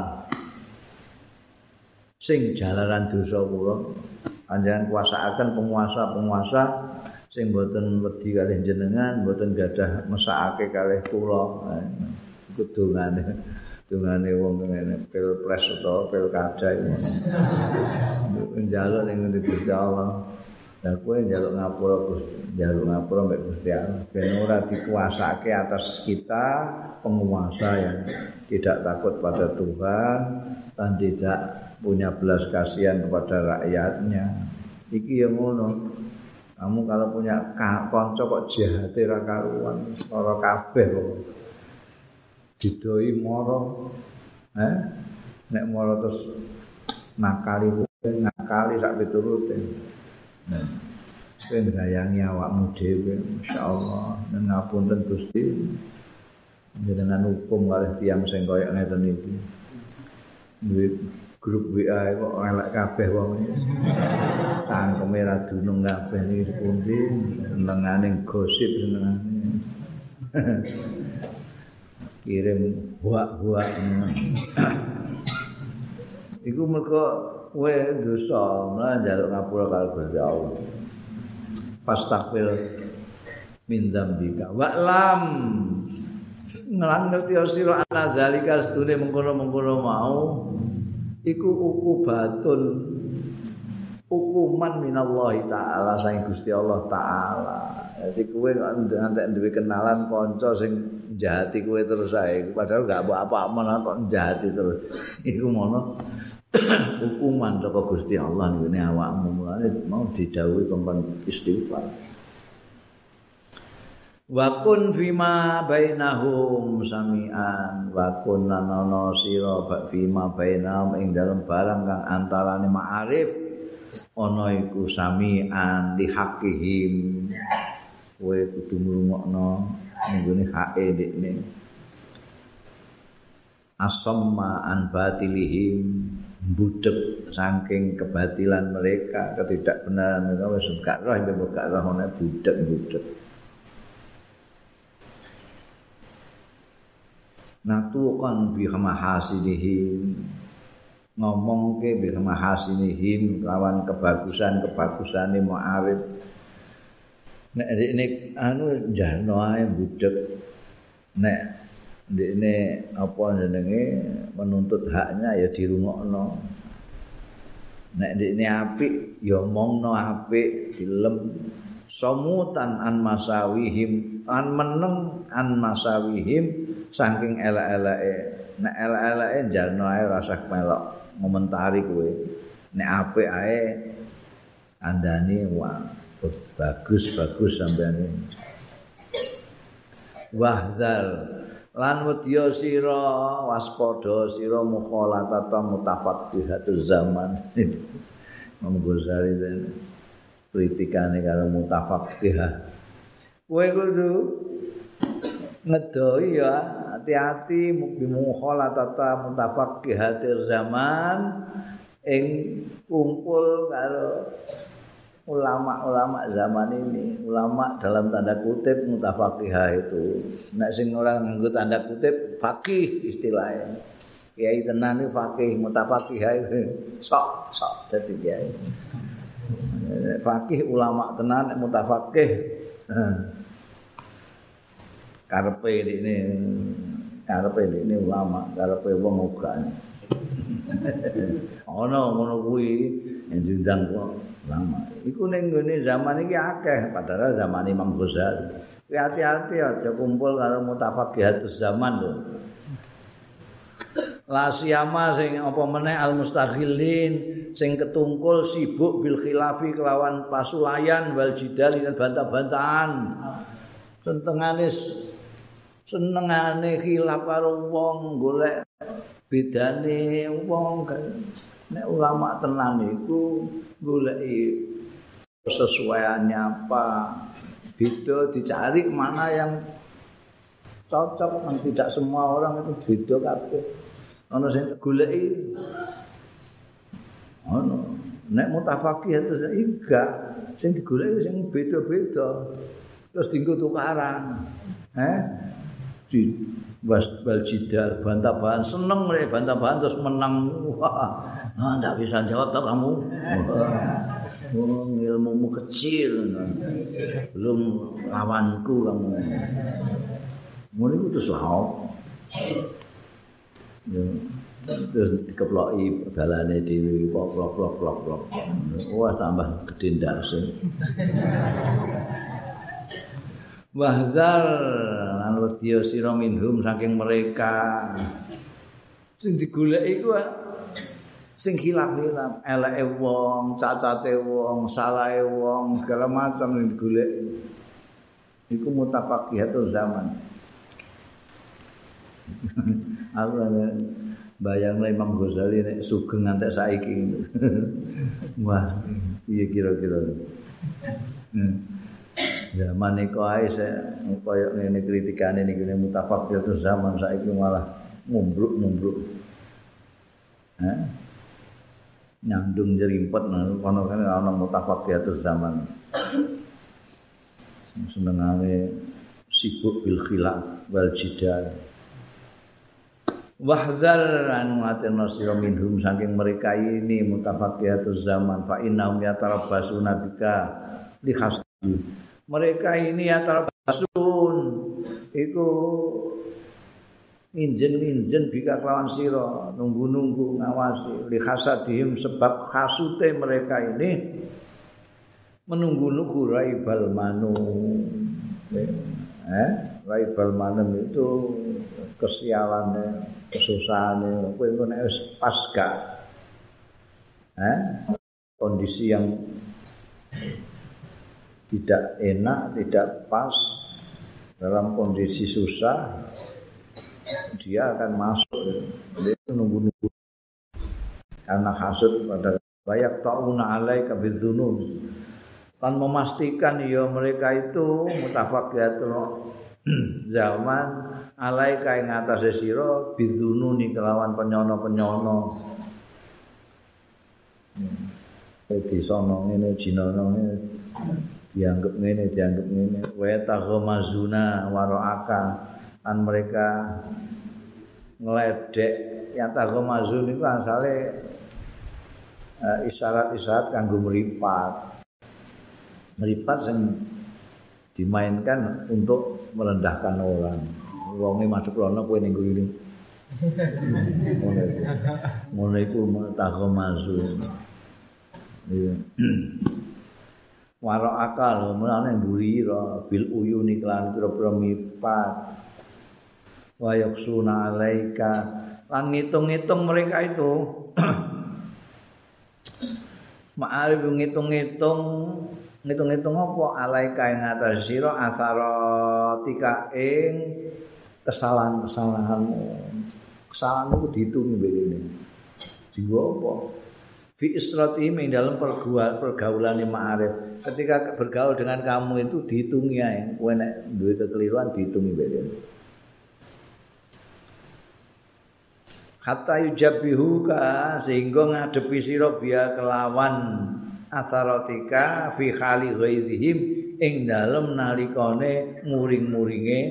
sing jalaran dosa kula panjenengan kuasaaken penguasa-penguasa sing boten wedi kalih jenengan boten gadah mesakake kalih kula iku dongane wong ngene pilpres utawa pilkada iki njaluk ning ngendi Gusti Allah lah kowe njaluk ngapura Gusti njaluk ngapura mbek Gusti Allah ben ora dikuasake atas kita penguasa yang tidak takut pada Tuhan dan tidak punya belas kasihan kepada rakyatnya iki ya ngono kamu kalau punya kanca kok jahate ra karuan ora kabeh kok didoi moro nek moro terus nakali sak piturute nah ben gayangi awakmu dhewe masyaallah ngapunten Gusti jenengan hukum kalih tiyang sing kaya ngeten iki duwe grup WA kok elek kabeh wong iki cangkeme ra dunung kabeh iki pundi senengane gosip senengane kirim buak-buak iku mergo kowe dosa lan njaluk ngapura karo Gusti Allah fastaghfir min dzambika wa lam lan ngerti sira ana zalika sedune mengkono-mengkono mau iku hukuman minallahi taala saing Gusti Allah taala. Jadi kowe ngantek duwe kenalan kanca sing njahati kowe terus ae padahal gak apa-apa men kok njahati terus. Iku mono hukuman saka Gusti Allah ngene awakmu mulane mau didhawuhi kongkon istighfar. Wa kun fima bainahum samian wa kun nanono sira fima bainahum ing dalem barang kang antarane ma'arif ana iku samian li hakihim kowe kudu ngrungokno nggone hake ndekne asamma an batilihim budek saking kebatilan mereka ketidakbenaran mereka wis gak roh gak roh ana budek natuqan bi mahasinihim ngomongke bi mahasinihim lawan kebagusan-kebagusane mu'arif nek anu jarno ae budek nek ndekne apa jenenge menuntut haknya ya dirungokno. Nek ndekne apik ya omongno apik, dilem somutan an masawihim, an meneng an masawihim saking elek-eleke. Nek elek-eleke jalno ae rasa melok ngomentari kowe. Nek apik ae andani wah bagus sampeyan. Wahdal lan wedya sira waspada sira mukhalatata mutafaqqihatuz zaman. Imam Ghazali kritikane karo mutafaqqihah. Kowe kudu ngedoi ya hati-hati mukhalatata mutafaqqihatir zaman ing kumpul karo ulama-ulama zaman ini, ulama dalam tanda kutip mutafaqihah itu. Nek sing ora nganggo tanda kutip faqih istilahnya. Kiai tenan iki faqih, mutafaqihah sok dadi kiai. Faqih ulama tenan mutafaqih. Karepe ini ulama, karepe wong uga. Ono ngono kuwi yang diundang lama. Iku ning gone zaman iki akeh, padahal zaman Imam Ghazali. Hati-hati aja kumpul karo mutafaqihatus zaman lho. La siyama sing apa meneh al mustaghilin sing ketungkul sibuk bil khilafi kelawan pasulayan wal jidal dan bantah-bantahan. Senengane khilaf karo wong golek bedane wong kan. Nek ulama tenan iku goleki sesuaiannya apa, beda dicari mana yang cocok. Kan tidak semua orang itu beda kabeh. Ana sing goleki ono nek mutafaqih terus enggak sing digoleki sing beda-beda terus dienggo tukaran. Di bal jidal bantah-bantahan seneng mereka bantah-bantahan terus menang. Wah, enggak bisa jawab toh kamu. Ilmumu kecil. Belum lawanku kamu. Mulai terus lauk. Terus dikeploki balane dhewe plok. Wah, tambah gede ndase. Wahzar lan wedya sira minhum saking mereka sing digoleki iku sing khilaf-khilaf eleke wong, cacate wong, salahe wong, segala macam sing digoleki iku mutafaqihatul zaman. Aku bayangno Imam Ghazali nek sugeng ngantek saiki. Wah, piye kira-kira. Zaman niku ae koyo ngene kritikane niku mutafaqihatus zaman saiki malah ngumbruk-ngumbruk. Nyandung jerimpet kono kan ana mutafaqihatus zaman. Senengane sibuk bil khilaf wal jidal. Wahdzar an watina sira minhum saking mereka ini mutafaqihatus zaman fa innahum yatarabbasuna bika li khasdi. Mereka ini yatarabasun iku injen bika kelawan sira nunggu-nunggu ngawasi li hasadihim sebab hasute mereka ini menunggu-nunggu raibal manum. Raibal manum itu kesialannya, kesusahannya. Kowe engko nek wis pas gak kondisi yang tidak enak, tidak pas dalam kondisi susah, dia akan masuk. Dia nunggu-nunggu karena hasud pada bayak tauna alaika bidzunun. Kan memastikan ya mereka itu mutafaqihatul zaman alaika ing atase sira bidzununi kelawan penyono-penyono. Di sono ngene jinono ngene dianggap ngene wa taghmazuna waraaka kan mereka ngeledek yang taghmazun itu asale isyarat-isyarat kanggo meripat sing dimainkan untuk merendahkan orang wonge madhep rono kowe ning ngene. Ngono iku tahomazu. Iya. Waro akal mulane mbulira bil uyuni kelan pira-pira mipat. Wa yaksuna alaika lan ngitung-ngitung mereka itu. Ma'arif ngitung-ngitung apa alaika ing atas sira asaratika ing kesalahan-kesalahanmu. Kesalahanmu ku dihitung begini. Jiwa apa? Fi isratihim ing dalam pergaulan ma'arif. Ketika bergaul dengan kamu itu dihitungi ae. Kowe nek duwe kekeliruan dihitungi begini. Hatta yujabihuka sehingga ngadepi sira biya kelawan asaratika fi khali ghaidhim ing dalem nalikane muring-muringe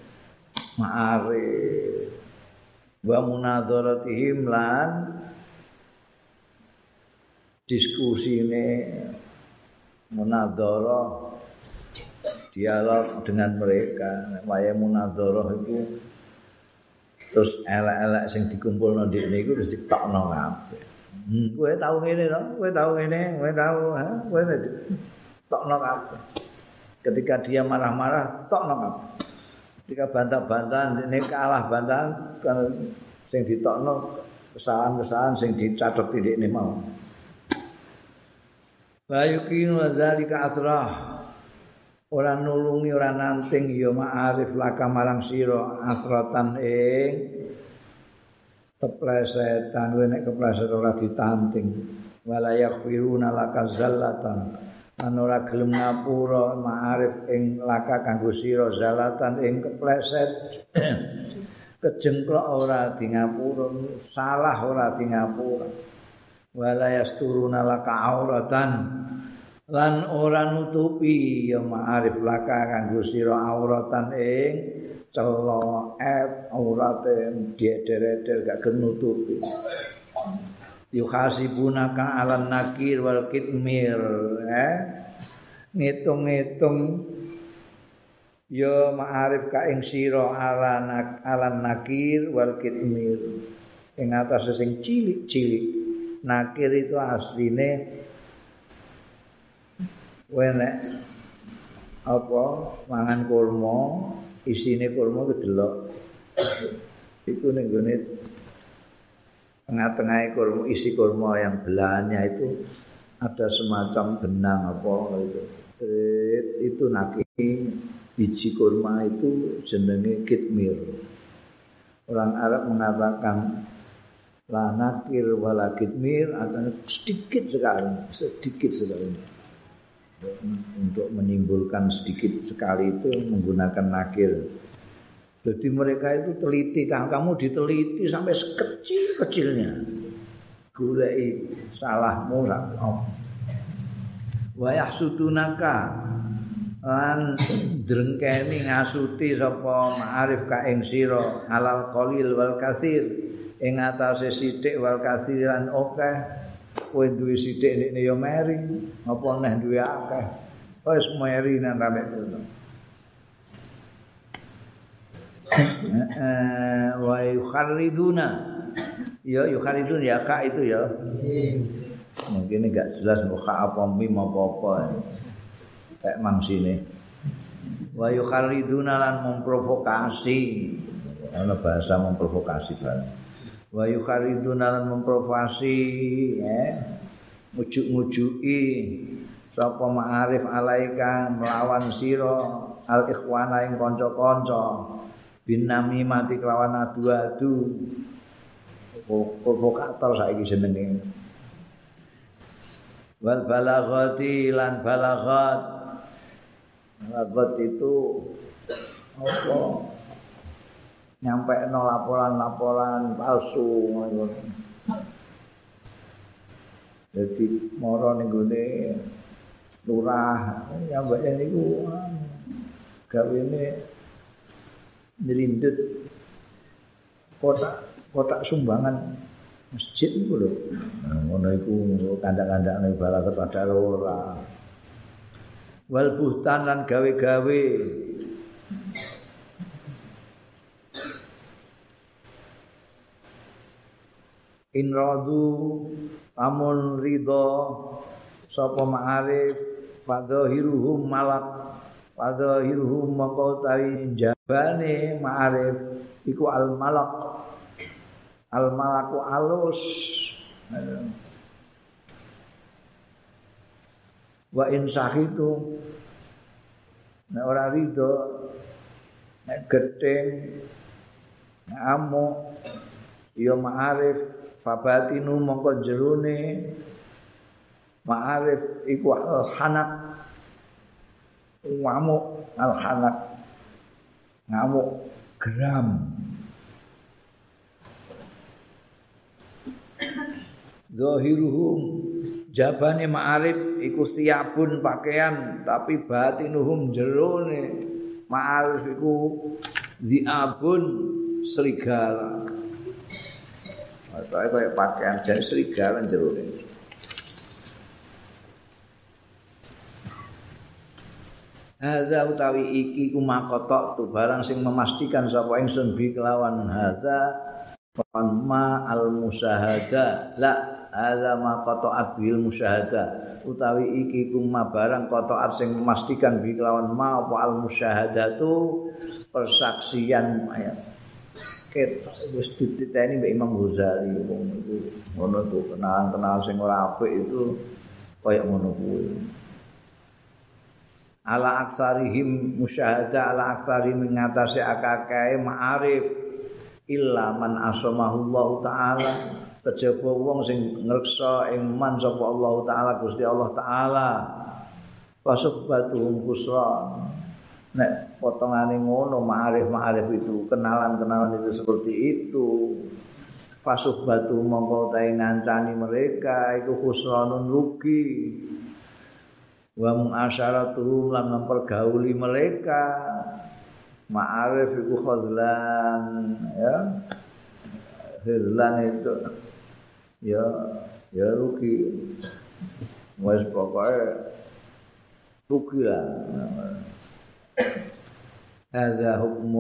ma'arif wa munadharatihim lan diskusine munadharah dialog dengan mereka waya munadharah itu terus elek-elek sing dikumpulno ndekne iku terus ditokno kabeh. Kowe tau ngene to, kowe tau ngene, kowe tau, kowe tokno kabeh. Ketika dia marah-marah, tokno kabeh. Ketika bantah-bantahan ndekne kalah bantahan kan sing ditokno kesalahan-kesalahan sing dicatet ndekne mau. La yukinu dzalika asrah. Ora nulungi ora nanting ya ma'arif laka marang sira asratan ing keplesetan nek kepleset ora ditanting wala yaghfiruna laka zallatan lan ora gelem ngapura ma'arif ing laka kanggo sira zallatan ing kepleset kejengklok ora di ngapura salah ora di ngapura wala yasturuna laka auratan lan ora nutupi ya ma'arif laka kanggo sira auratan ing celo aurate dieder-eder gak nutupi yuhasibunaka alan nakir wal kitmir ngitung-ngitung ya ma'arif ka ing sira alan nakir wal kitmir ing atas sing cilik-cilik nakir itu asline nek apa mangan kurma isine kurma kedelok iku ning gone tengah-tengahe kurma isi kurma yang belahannya itu ada semacam benang apa itu nakir biji kurma itu jenenge kitmir. Orang Arab mengatakan la nakir wala kitmir artinya sedikit sekali. Untuk menimbulkan sedikit sekali itu menggunakan nakir. Jadi mereka itu teliti, kamu diteliti sampai sekecil-kecilnya. Goleki salahmu wa yahsudunaka lan drengkeni ngasuti sapa ma'arif ka ing sira alal qalil wal katsir ing atase sithik wal katsir lan akeh. Kowe duwe sithik ndekne ya meri, apa neh duwe akeh. Wis meri nang rame ngono. Wa yukhariduna. Ya yukharidun ya ka itu ya. Mungkin enggak jelas kok apa mim apa-apa. Kayak mangsine. Wa yukhariduna lan memprovokasi. Ana bahasa memprovokasi kan. Wa yukhariduna lan memprovokasi ngujuk-ngujuki sapa ma'arif alaika melawan sira al ikhwana ing kanca-kanca binami mati kelawan adu-adu provokator saiki jenenge wal balaghati lan balaghat itu apa nyampe no laporan-laporan palsu ngono. Jadi moro ning gone lurah nyampe niku gawene nyelindut kotak sumbangan masjid niku lho. Nah, ngono iku kandak-kandakne bala kepada ora. Wal buhtan lan gawe-gawe in radu amun ridho sapa ma'arif fadhahiruhum malak fadhahiruhum maka utawi jabane ma'arif iku al malaku alus wa in sahitu nek ora ridho nek gething amuk ya ma'arif fabatinu mongko jerone ma'arif iku al-hanak ngamuk al-hanak ngamuk geram zahiruhum jabane ma'arif iku siapun pakaian tapi batinuhum jerone ma'arif iku diabun serigala atau kayak pakaian jadi serigala jerone hadza utawi iki kumakotok tu barang sing memastikan sapa ingsun bi kelawan hadza ma al musyahada la hadza ma qata'at bil musyahada utawi iki kuma barang qata'at sing memastikan bi kelawan ma apa al musyahadatu persaksian ayat ket wis dititeni Mbak Imam Ghazali wong iku ngono tuh kenalan sing ora apik itu kaya ngono kuwi ala aksarihim musyahada ala aksarihim ngatasi akakae ma'arif illa man asamahullahu ta'ala kejaba wong sing ngreksa ing man sapa Allah taala Gusti Allah taala pasubatuhum khusran nek potongane ngono ma'arif itu kenalan itu seperti itu pasubatu mongko tae ngancani mereka iku khusranun rugi wa mu'asyaratuhum lan mempergauli mereka ma'arif iku khadlan ya khadlan itu ya rugi wis pokoke rugi lah hadza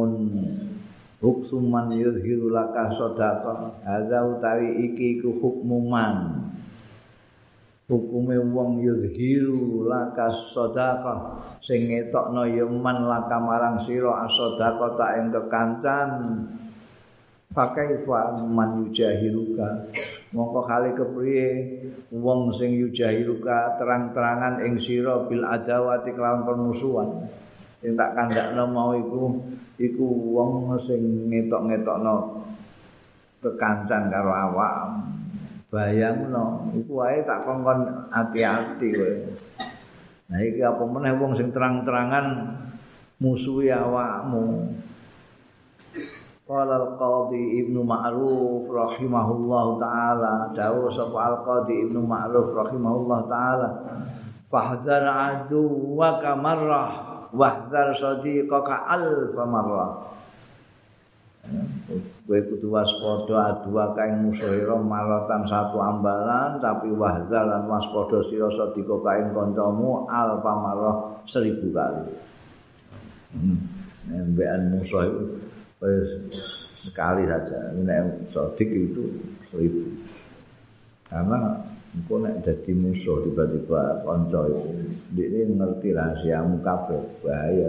hukman yuzhiru laka shadaqah hadza utawi iki iku hukmuman hukume wong yuzhiru laka shadaqah sing ngetokno ya man laka marang sira as-shadaqah ta ing kekancan pakai fa man yujahiruka mongko kali kepriye wong sing yujahiruka terang-terangan ing sira bil adawati kelawan permusuhan sing tak kandakno mau iku wong sing ngetok-ngetokno kekancan karo awak bayangno iku wae tak kongkon hati-hati kowe nah iki apa meneh wong sing terang-terangan musuhi awakmu qala al-qadhi Ibnu Ma'ruf rahimahullahu taala dawuh sapa al-qadhi Ibnu Ma'ruf rahimahullah taala fahdhar aduwaka marrah wahdhar sadiqaka alfa marrah kowe kudu waspada aduwaka ing musuhira maratan satu ambalan tapi wahdhar lan waspada sira sadiqaka ing kancamu alfa marrah 1000 kali nembekan musuh itu sekali saja nek sodik itu 1000 karena engko nek dadi musuh tiba-tiba kanca itu ndekne ngerti rahasiamu kabeh bahaya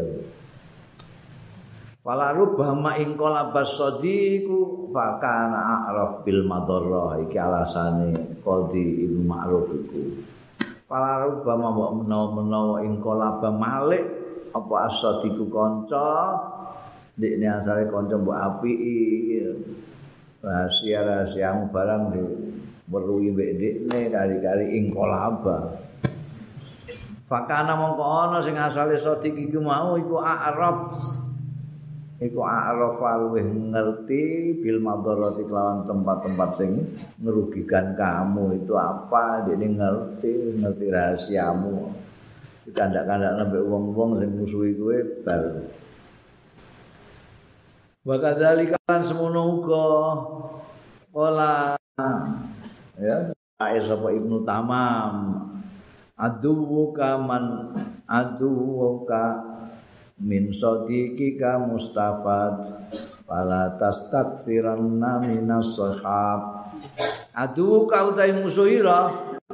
wala rubbama ing qalabas sadiqu fakana a'raf bil madarrah iki alasane Qadhi Ibnu Ma'ruf iku wala rubbama menawa ing qalaba malik apa as-sadiqu kanca ndekne asale kanca mbok apiki rahasia-rahasiamu barang weruhi mbek ndekne kali-kali ing kolaba fakana mongko ana sing asale sadiq iku mau iku a'raf luwih ngerti bil madharati kelawan tempat-tempat sing ngerugikan kamu itu apa ndekne ngerti rahasiamu dikandak-kandak nambah wong-wong sing musuhi kowe bal wa kadzalika lan semono uga wala ya sapa Ibnu Tamam aduwuka min sadiqika mustafad fala tastaksiranna minas sahab adu kau utai musuh ira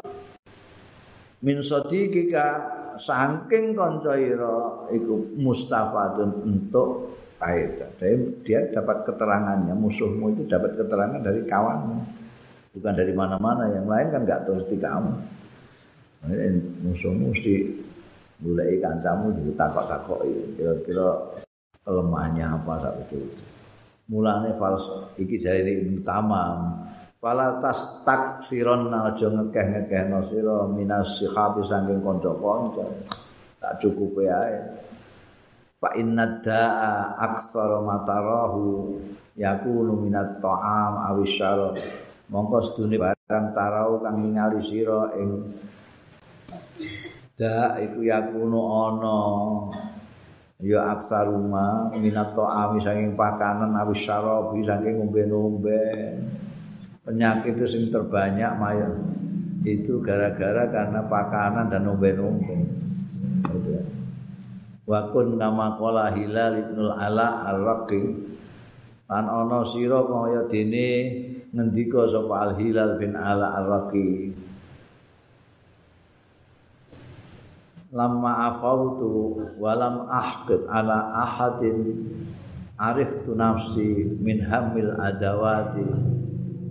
min sadiqika saking kanca ira iku mustafadun untuk kaidah. Dia dapat keterangannya, musuhmu itu dapat keterangan dari kawanmu. Bukan dari mana-mana, yang lain kan enggak mesti kamu. Musuhmu mesti mulai kancamu ditakok-takoki kira-kira kelemahannya apa sak itu. Mulane iki jare utama. Fala tas taksiron aja ngekeh-ngekehno sira minas sihabi saking kanca-kanca. Tak cukupe ae. Fa inna da'a aktsara matarahu yakunu minat ta'am awis syarab. Mongko sedune barang tarau kang ningali sira ing da iku yakunu ana ya aktsaruma minat ta'am saking pakanan awis syarab saking ngombe-ngombe. Penyakit itu sing terbanyak maya itu gara-gara karena pakanan dan nombe-nombe. Wa kun kama qala Hilal ibnul Ala ar-Raqi lan ana sira kaya dene ngendika sapa Al Hilal bin Ala ar-Raqi lamma afautu wa lam ahqid ala ahadin ariftu nafsi min hamil adawati.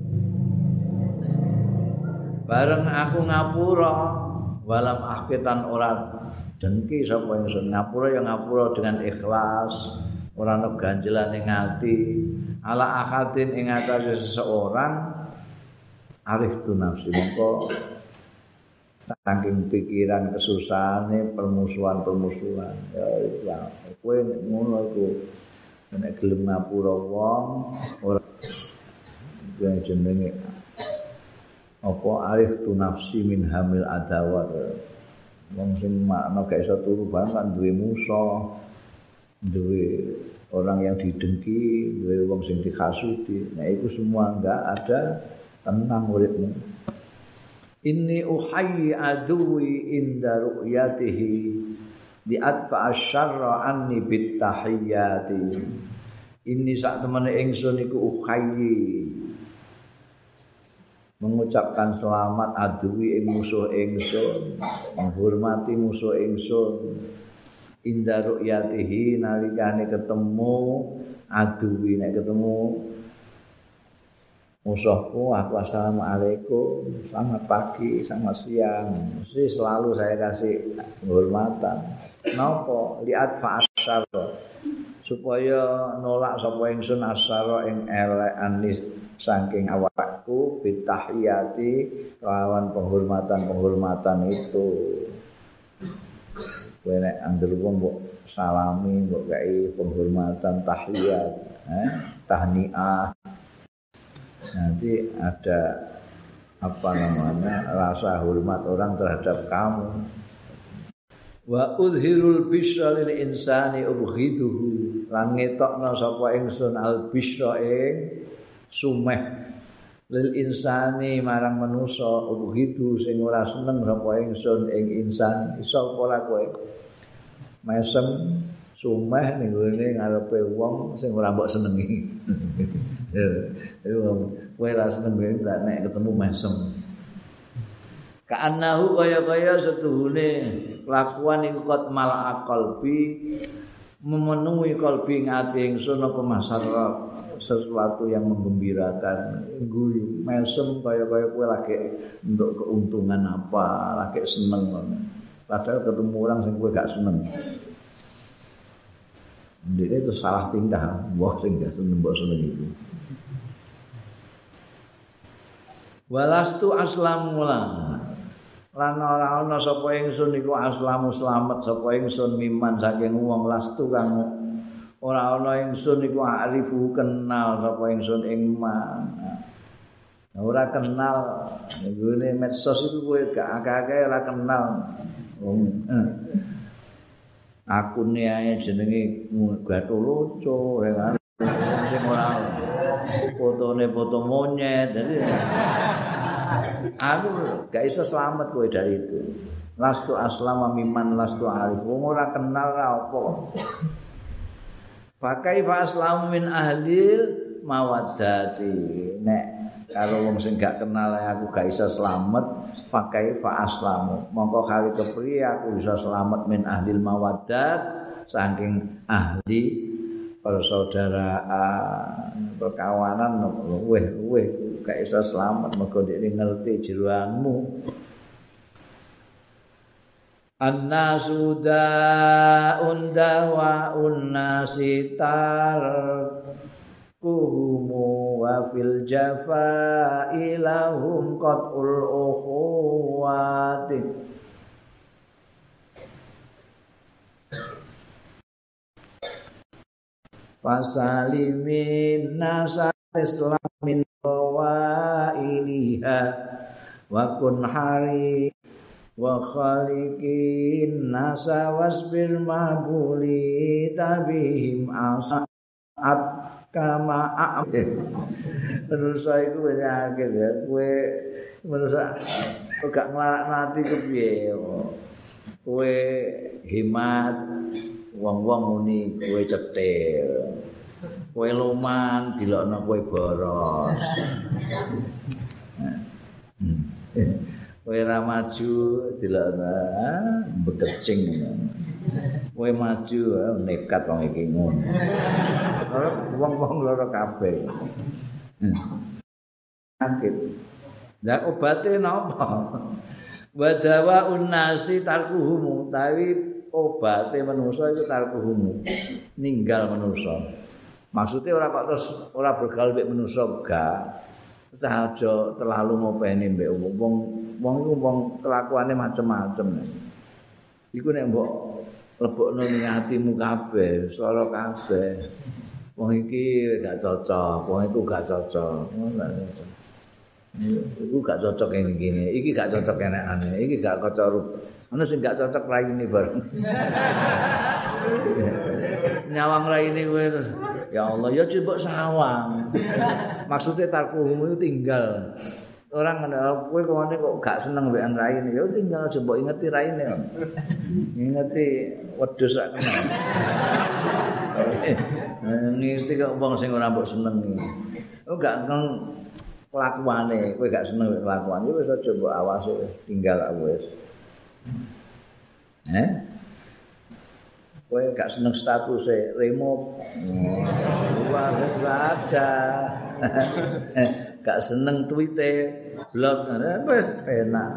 Bareng aku ngapura walam ahkitan ora dengki sapa ingsun ngapura ya ngapura dengan ikhlas ora ana ganjelan ing ati ala akhatin ing atase seseorang arif tu nafsi mongko saking pikiran kesusahane permusuhan ya kowe ngono iku nek gelem ngapura wong ora jenenge apa arif tu nafsi min hamil adawat wong sing makna gak iso turu bareng kan duwe musuh duwe orang yang didengki duwe wong sing dikasuti nah itu semua enggak ada tenang uripmu inni uhayyi aduwi inda ru'yatihi di atfa asyarra anni bit tahiyyati inni sak temene ingsun iku uhayyi mengucapkan selamat adui ing musuh ingsun menghormati musuh ingsun inda ru'yatihi nalikane ketemu adui nek ketemu musuhku aku assalamualaikum selamat pagi selamat siang mesti selalu saya kasih penghormatan napa liat fa asyar supaya nolak sapa ingsun asyara ing elek anis saking awakku bitahiyati lawan penghormatan itu kowe nek anggere wong mbok salami mbok gawe penghormatan tahiyat tahniah nanti ada apa namanya rasa hormat orang terhadap kamu wa udhirul bisra lil insani ubghiduhu lan ngetokno sapa ingsun al bisra ing sumeh lil insani marang manusa ubghidu sing ora seneng sapa ingsun ing insan iso ora kowe mesem sumeh ning ngene ngarepe wong sing ora mbok senengi kowe ora seneng nek ketemu mesem ka'annahu kaya-kaya setuhune kelakuan iku kot mal qalbi memenuhi kalbi ngati ingsun apa masalah sesuatu yang menggembirakan guyu mesem kaya-kaya kowe lagi untuk keuntungan apa lagi seneng padahal ketemu orang sing kowe gak seneng dia itu salah tingkah mbok sing gak seneng mbok seneng itu walastu aslamula lan ora ana sapa ingsun iku aslamu slamet sapa ingsun miman saking wong lastu kang ora ana ingsun iku arifu kenal sapa ingsun ing man. Ora kenal ngene medsos iku kowe gak akeh-akeh ora kenal. Akune ae jenenge Gatuluco kan sing ora fotone foto monyet. Jadi aku gak iso selamat kowe dari itu. Lastu aslama miman lastu arif. Wong ora kenal ra apa. Fa kaifa aslamu min ahlil mawaddati. Nek karo wong sing gak kenal aku gak iso slamet pakai fa aslamu mongko kali kepriye aku bisa slamet min ahlil mawaddat saking ahli persaudaraan perkawanan luweh gak iso slamet mergo dhek ngerti jeroanmu annasu da'un dawa'un nasitar kuhumu wa fil jafa'i lahum qat'ul ukhuwati fasalimin nasa islamin wa iliha wa kun hari wa khaliqin nasa wasbir mabuli tabihim asa'at kama manusa iku penyakit ya kowe manusa gak nglarak-lati kepiye kowe hemat wong-wong muni kowe cetil kowe loman dilokno kowe boros kowe ra maju dilokno bekecing kowe maju nekat wong iki ngono wong-wong loro kabeh sakit lah obate napa wadawa unnasi tarkuhum tapi obate manusa itu tarkuhum ninggal manusa maksudnya ora kok terus ora bergaul mek manusa gak aja terlalu ngopeni mbek wong iku wong kelakuane macem-macem iku nek mbok lebokno ning atimu kabeh swara kabeh wong iki gak cocok wong iku gak cocok iku gak cocok ngene iki gak cocok enek-enek iki gak kocok ana sing gak cocok raine bareng nyawang raine kowe terus ya Allah ya coba sawang maksudnya tarkuhum itu tinggal orang kowe kene kok gak seneng mbekan raine ya tinggal coba ingeti raine ingeti wedhus sak kenal ngiti kok wong sing ora mbok senengi gak ngeng kelakuane kowe gak seneng kelakuan ya wis aja mbok awase tinggal wis kowe gak seneng statuse remove luar saja gak seneng tweete blog wis enak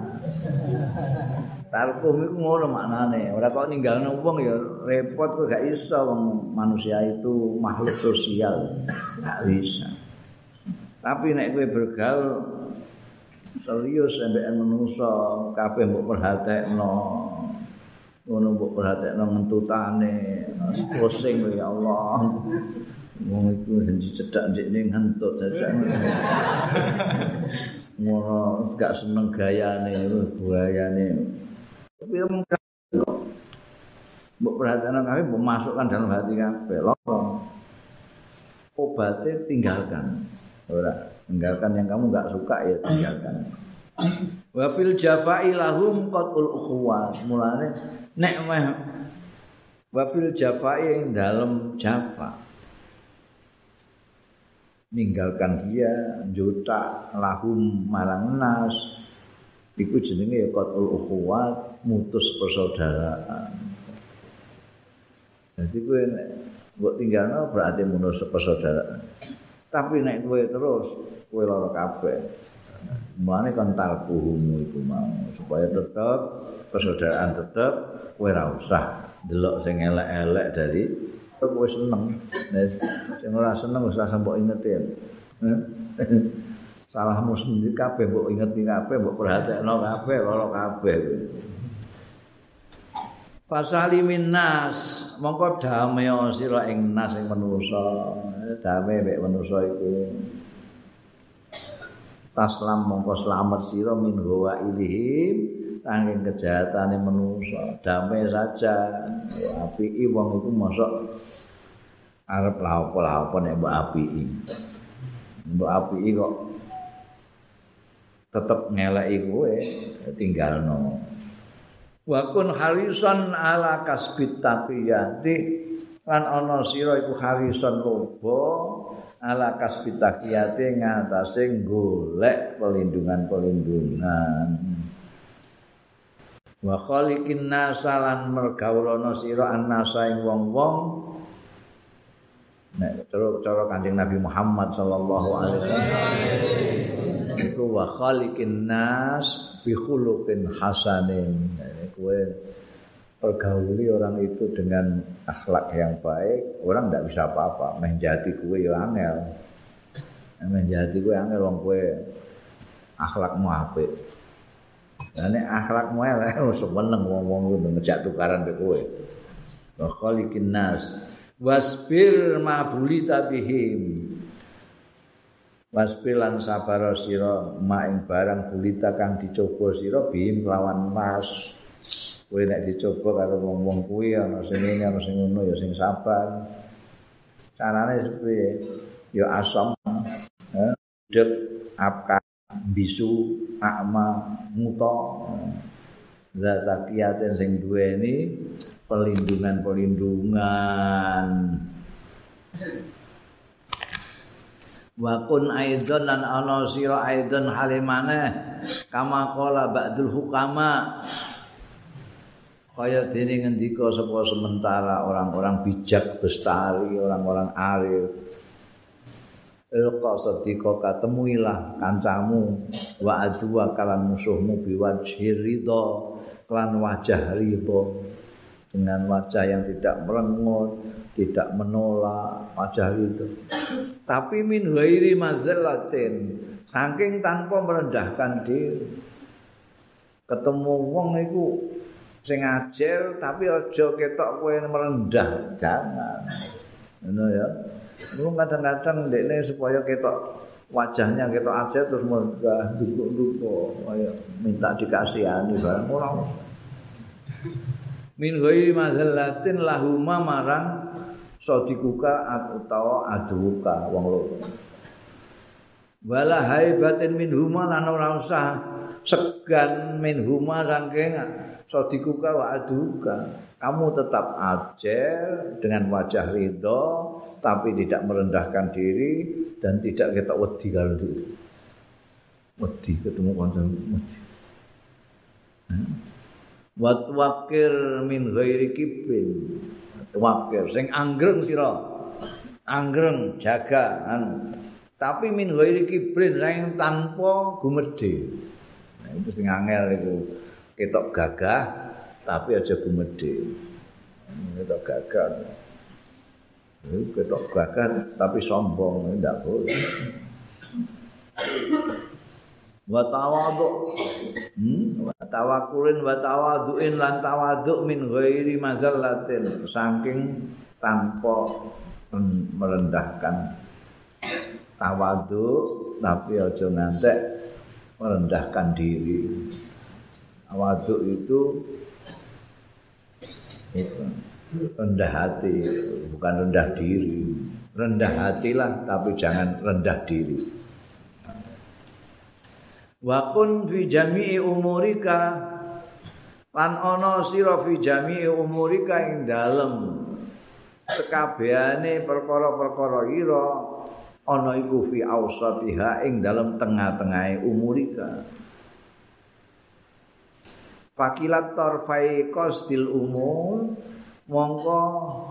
tarkum iku ngono maknane ora kok ninggalno wong ya repot kok gak iso wong manusia itu makhluk sosial gak bisa tapi nek kowe bergaul serius sampeyan manungsa kabeh mbok perhatekno ngono mbok perhatekno ngentutane pusing ya Allah wong iku janji cedak ndekne ngentut dadak ngono gak seneng gayane tapi mbok perhatekno kabeh mbok masukkan dalam hati kabeh loro obatnya tinggalkan ora tinggalkan yang kamu enggak suka ya tinggalkan wa fil jafa'i lahum qatul ukhuwat mulane nek meh wa fil jafa'i ing dalem jafa ninggalkan dia juta lahum marang nas iku jenenge ya qatul ukhuwat mutus persaudaraan jadi kowe nek mbok tinggalno berarti mutus persaudaraan tapi nek kowe terus kowe lara kabeh. Mulane kon talkuhum iku mau supaya tetep persaudaraan tetep kowe ora usah delok sing elek-elek dari kowe seneng. Nek sing ora seneng wis ora mbok ingeti. Salahmu sendiri kabeh mbok ingeti kabeh mbok perhatekno kabeh lara kabeh. Fasalimin nas mongko damai sira ing nas ing manusa damai mek manusa iku taslam mongko slamet sira min wa ilihim saking kejahatane manusa damai saja apiki wong iku mosok arep laopo-laopo nek mbok apiki kok tetep ngeleki kowe tinggalno wa kun harisan ala kasbit taqiyati lan ana sira iku harisan loba ala kasbitakiyate ngatasé golek pelindungan-pelindungan. Wa khaliqin nasalan mergawulana sira annasa ing wong-wong nek cara Kanjeng Nabi Muhammad sallallahu alaihi wasallam iku wa khaliqin nas bi khuluqin hasanin. Kowe pergauli orang itu dengan akhlak yang baik, orang tidak bisa apa-apa. Menjadi kowe ya angel. Menjadi kowe angel wong kowe akhlakmu apik. Nek akhlakmu elek seneng wong-wong kuwi ngejak tukaran be kowe. Wa khaliqin nas wasbir ma bulita bihim. Wasbir lan sabar sira ma ing barang bulita kang dicoba sira bihim lawan nas. Kowe nek dicoba karo wong-wong kuwi ana sing ngene ana sing ngono ya sing sabar. Carane sepiye? Ya asam, dep apka bisu akma muta zatakiyaten sing duweni pelindungan-pelindungan. Wa kun aidan lan ana sira aidan halimane kama qala ba'dul hukama kaya dene ngendika sapa sementara orang-orang bijak bestari, orang-orang arif. Ilqa sadika katemuilah kancamu wa adwa kalan musuhmu biwajhi ridha kelan wajah ridha dengan wajah yang tidak merengut, tidak menolak, wajah ridha. Tapi min ghairi mazallatin, saking tanpa merendahkan diri. Ketemu wong iku sing ajel tapi aja ketok kowe merendah, jangan. Ngono ya. Mulu kadang-kadang ndekne supaya ketok wajahnya ketok aja terus megah dukuk-dukuk kaya minta dikasihani barang ora usah. Min ghairi mazallatin lahuma marang sadikuka utawa aduka wong loro. Wala haibatin minhuma lan ora usah segan minhuma saking sadikuka wa aduka. Kamu tetap ajel dengan wajah ridho tapi tidak merendahkan diri dan tidak ketok wedi karo diri. Wedi ketemu kanca wedi. Wa tuwakir min ghairi kibrin. Tuwakir sing anggreng sira. Anggreng jaga tapi min ghairi kibrin sing tanpa gumedhe. Nah itu sing angel itu ketok gagah tapi aja gumedhe. Ketok gagah. Ketok gagah tapi sombong ndak boleh. Wa tawadhu. Wa tawakkulin wa tawadhuin lan tawadhu min ghairi mazallatin saking tanpa merendahkan. Tawadhu tapi aja ngantek merendahkan diri. Tawadhu itu rendah hati, bukan rendah diri. Rendah hatilah tapi jangan rendah diri. Wa kun fi jami'i umurika lan ana sira fi jami'i umurika ing dalem sekabehane perkara-perkara ira ana iku fi ausatiha ing dalem tengah-tengahe umurika. Fakilat tarfai qasdil umur mongko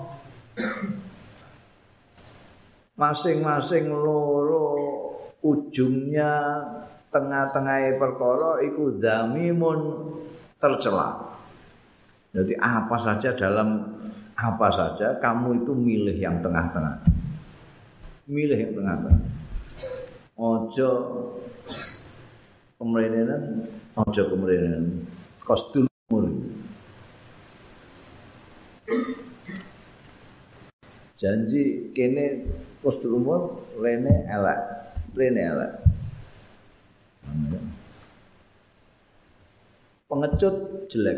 masing-masing loro ujungnya tengah-tengahe perkara iku dzamimun tercela. Jadi apa saja dalam apa saja kamu itu milih yang tengah-tengah. Milih yang tengah-tengah. Ojo kemrenenan, ojo kemrenenan. Qasdul umur. Janji kene qasdul umur rene elek. Pengecut jelek.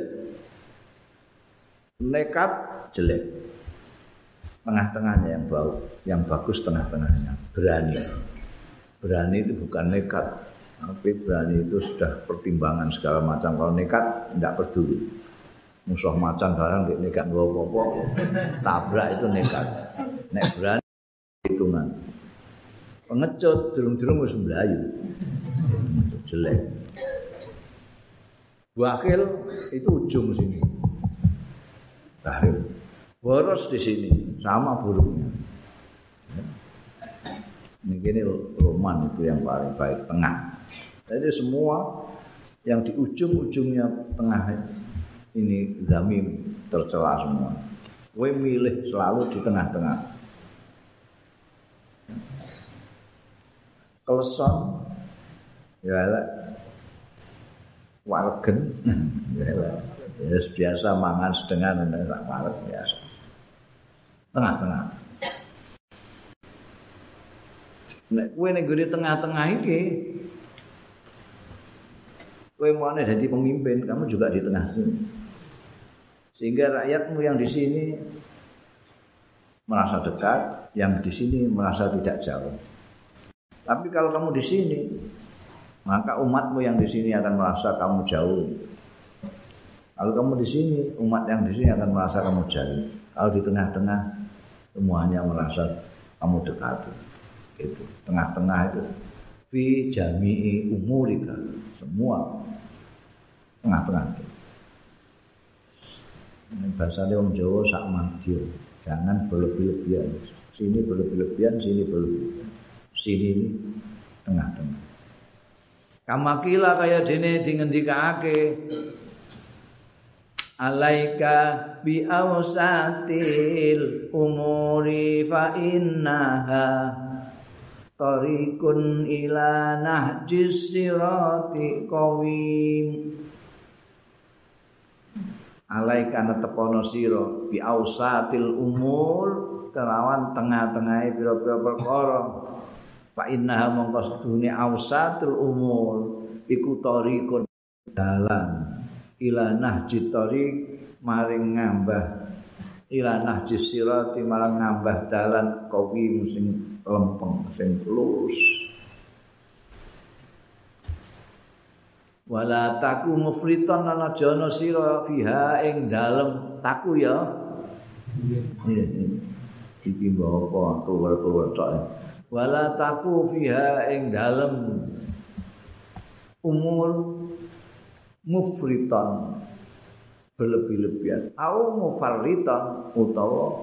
Nekat jelek. Tengah-tengahnya yang bau, yang bagus tengah-tengahnya. Berani. Berani itu bukan nekat. Tapi berani itu sudah pertimbangan segala macam. Kalau nekat tidak peduli. Musuh macan barang nekat gak apa-apa. Tabrak itu nekat. Nek berani hitungan. pengecut durung-durung wis mlayu. Jelek. Bakhil itu ujung sini. Bakhil. Boros di sini sama buruknya. Ini Roman itu yang paling baik tengah. Jadi semua yang di ujung-ujungnya tengah ini zamim tercela semua. Kowe milih selalu di tengah-tengah. Kleson ya elek. Waregen ya elek. Ya biasa mangan sedengan sak wareg biasa. Tengah-tengah. Nek kowe ning gone tengah-tengah iki kowe mau jadi pemimpin, kamu juga di tengah sini. Sehingga rakyatmu yang di sini merasa dekat, yang di sini merasa tidak jauh. Tapi kalau kamu di sini, maka umatmu yang di sini akan merasa kamu jauh. Kalau kamu di sini, umat yang di sini akan merasa kamu jauh. Kalau di tengah-tengah, semuanya merasa kamu dekat. Itu tengah-tengah itu. Fi jami'i umurika, semua tengah-tengah itu. Ini bahasanya orang Jawa sak madya, jangan berlebih-lebihan. Sini berlebih-lebihan, sini berlebih-lebihan. Sini ini tengah-tengah. Kamakila kaya dene dingendikake alaika bi awsatil umuri fa innaha tariqun ila nahjis sirati qawim. Alaika netepono sira bi ausatil umur kelawan tengah-tengahe pira-pira perkara. Fa innaha mongko sedune ausatul umur iku tariqun dalan ila nahjit tariq maring ngambah ila nahjis sirati marang ngambah dalan qawim sing lempeng sing lurus. Wala taku mufriton lan aja ana sira fiha ing dalem taku ya. Iki mbok tuwel-tuwel tok. Wala taku fiha ing dalem umur mufriton berlebih-lebihan au mufarriton utawa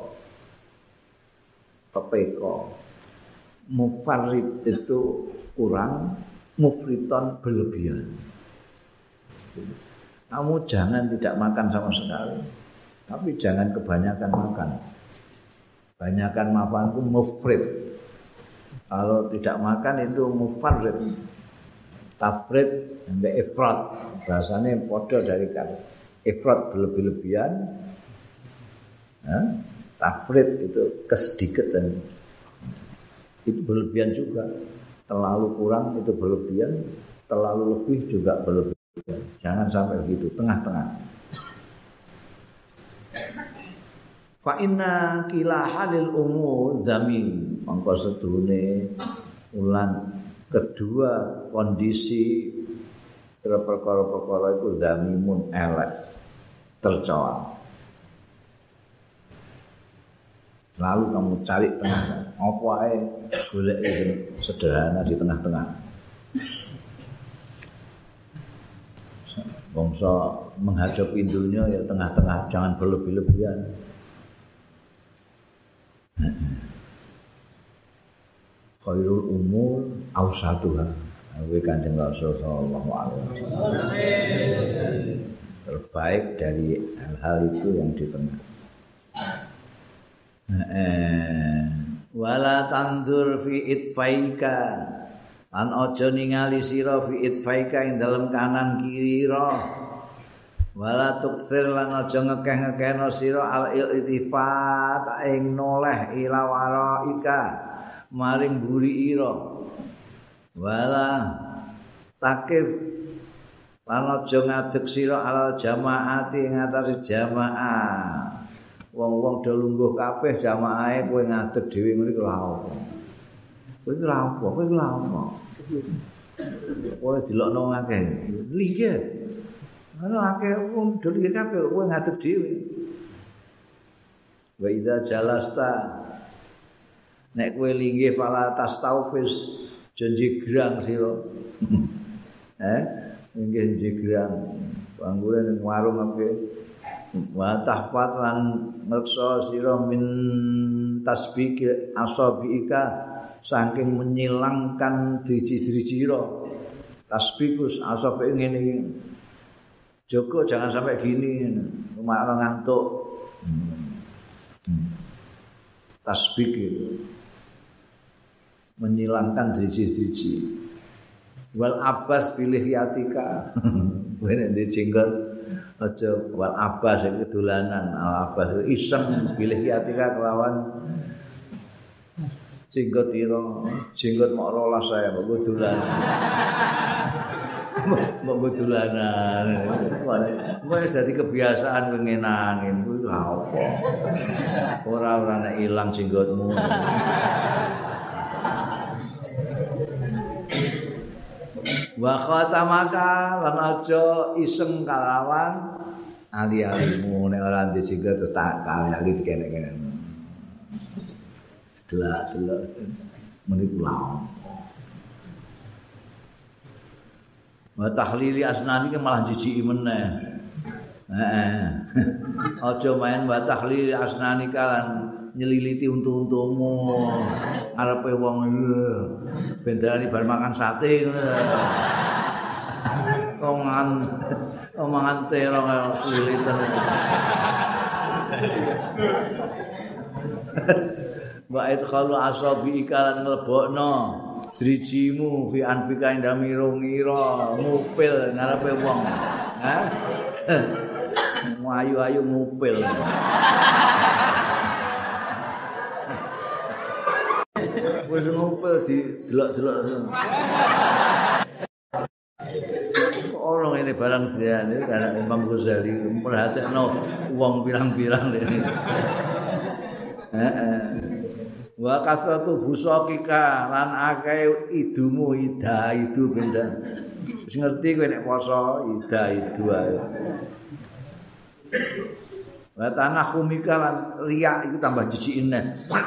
pepeko. Mufarrid itu kurang, mufriton berlebihan. Kamu jangan tidak makan sama sekali, tapi jangan kebanyakan makan. Banyakan makan itu mufrid. Kalau tidak makan itu mufarrid. Tafrid dan ifrat. Bahasanya podo dari kata ifrat berlebih-lebihan. Tafrid itu kesedikatan. Itu berlebihan juga. Terlalu kurang itu berlebihan, terlalu lebih juga berlebihan. Jangan sampai begitu, tengah-tengah. Fa inna kilahalil umur dhamin, mongko sedune ulan kedua kondisi perkara-perkara itu dhamimun elek tercela. Selalu kamu cari tengah, apa ae golek sederhana di tengah-tengah. Bangsa menghadapi dunia ya tengah-tengah, jangan berlebih-lebihan. Khairul umur awsatuha. Nabi Kanjeng Rasul sallallahu alaihi wasallam. Terbaik dari hal-hal itu yang di tengah. Wala tandur fi itfaika. Lan aja ningali sira fi itfaika ing dalem kanan kiri ra. Wala tukthir lan aja ngekeh-ngekehno sira al iltifat ing noleh ila waraika maring mburi ira. Wala takif lan aja ngadeg sira al jamaati ing atase jamaah. Wong-wong do lungguh kabeh jamaahe kowe ngadeg dhewe ngene iki lha apa? Kowe lha apa? Kowe lha apa? Kowe dilokno akeh. Lha ana akeh wong do lungguh kabeh kowe ngadeg dhewe. Wa idza jalasta nek kowe linggih fala tastaufis janji grang sira. Linggih jegrang panggure ning warung ape wa tahfat lan ngreksa sira min tasbih asabiika saking menyilangkan driji-driji sira. Tasbikus asabe ngene iki. Joko jangan sampai gini, malah ngantuk. Tasbih itu menyilangkan driji-driji. Wal abbas pilih yatika. Bener dijenggot aja wal abbas iki dolanan. Al abbas iseng pilih yatika kelawan jenggot ira. Jenggot mok 12 saya mbok dolanan. Mbok dolanan. Wis dadi kebiasaan ngenangin kuwi lha apa. Ora nek ilang jenggotmu. Wa khatamaka lan aja iseng kalawan ali-alimu nek ora disinggo terus tak ali-ali dikene-kene. Delok-delok meniku laon. Wa tahlili asnani ki malah jijiki meneh. Aja main wa tahlili asnani kalan nyeliliti untu-untumu arepe wong bendarani bar makan sate omongan terong selilitan wa idkhalu asabi ikalan nglebokno drijimu fi anfika ing dalem ngira ngupil ngarepe wong ayu-ayu ngupil. Wis ngupil didelok-delok. Orang ini barang dia ini karena Imam Ghazali merhatikno wong pirang-pirang ini. Wa kasratu busakika lan akeh idumu ida itu benda. Wis ngerti kowe nek poso ida itu ae. Wa tanah kumika lan riya iku tambah jijik neh.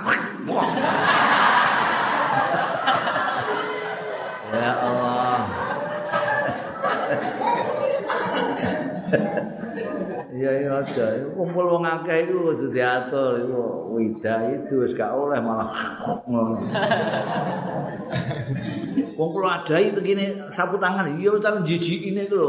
Ya Allah. Iya aja. Kumpul wong akeh iku kudu diatur iku. Wida itu wis gak oleh malah ngono. Wong kula adai begini sapu tangan iya wis tak jijikine iku lho.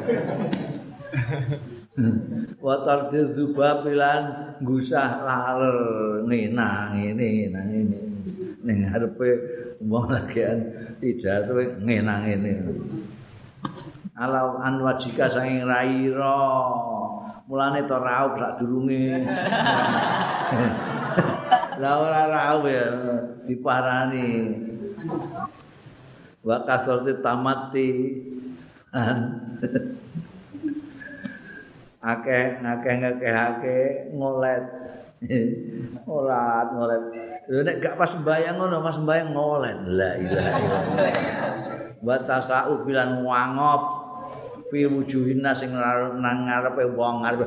Wa tardir dubabilan gusah laler ngenang ngene ning ngarepe wong lagian pidato ngenang ngene. Alau anwajika saking raira mulane to raup sadurunge. Lah ora raup ya diparani. Wa kasrati tamati akeh ngolet. Ngolet. Nek gak pas sembayang ngono, pas sembayang ngolet. La ilaha illallah. Wa tasau bilan wangop fi wujuhinna sing nang ngarepe wong ngarepe.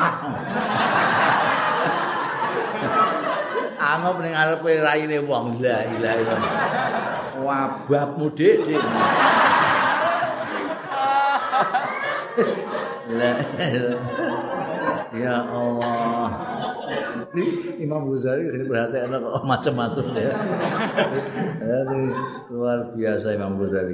Angop ning ngarepe raine wong. La ilaha illallah. Wabahmu dik. Ya Allah. Imam Ghazali sing perhatian kok macam-macam ya. Luar biasa Imam Ghazali.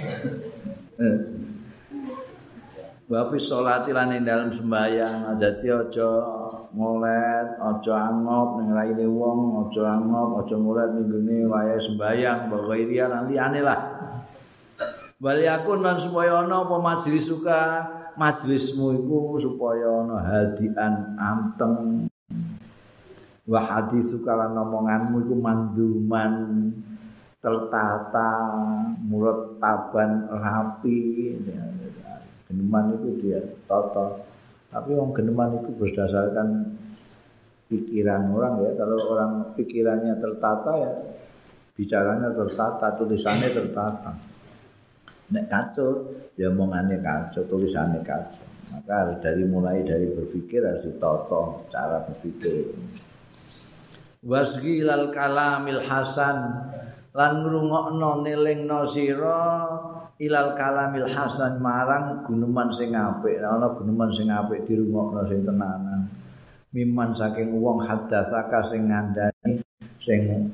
Wa fi sholati lan ing dalem sembahyang dadi aja ngolet, aja angop ning raine wong, aja angop, aja ngolet ning gone wayahe sembahyang, wa ghairiya lan liyane lah. Wal yakun lan supaya ana apa majelis suka majelismu iku supaya ana hadian anteng. Wa haditsu kalan omonganmu iku manduman tertata murattaban rapi. Geneman itu dia tata. Tapi wong geneman itu berdasarkan pikiran orang ya. Kalau orang pikirannya tertata ya bicaranya tertata, tulisannya tertata. Nek kacau, ya omongannya kacau, tulisannya kacau. Maka mulai dari berpikir harus ditata cara berpikir. wasghilal kalamil hasan lan ngrungokno nelingno sira ilal kalamil hasan marang guneman sing apik ana guneman sing apik dirungokno sing tenanan miman saking wong hadatsaka sing ngandani sing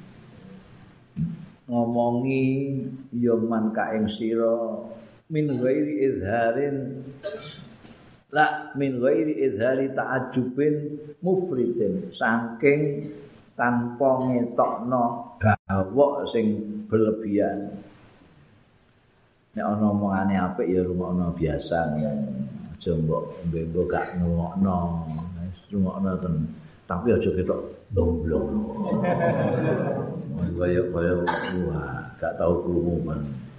ngomongi ya man ka ing sira min ghairi izharin la min ghairi izhari ta'ajjubin mufridin saking tanpa ngetokno gawok sing berlebihan nek ana omongane apik ya rungokno biasa aja mbok gak ngrungokno wis rungokno ten tapi aja ketok domblong kaya wah gak tau krungu men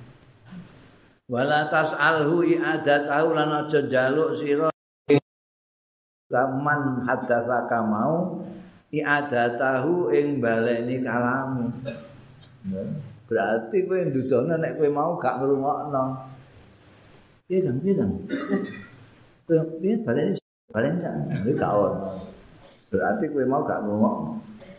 wala tas'alhu i'adatahu lan aja njaluk sira man hadatsaka mau i'adatahu ing baleni kalamu berarti kowe ndudono nek kowe mau gak ngrungokno piye kan piye baleni gak ono berarti kowe mau gak ngrungokno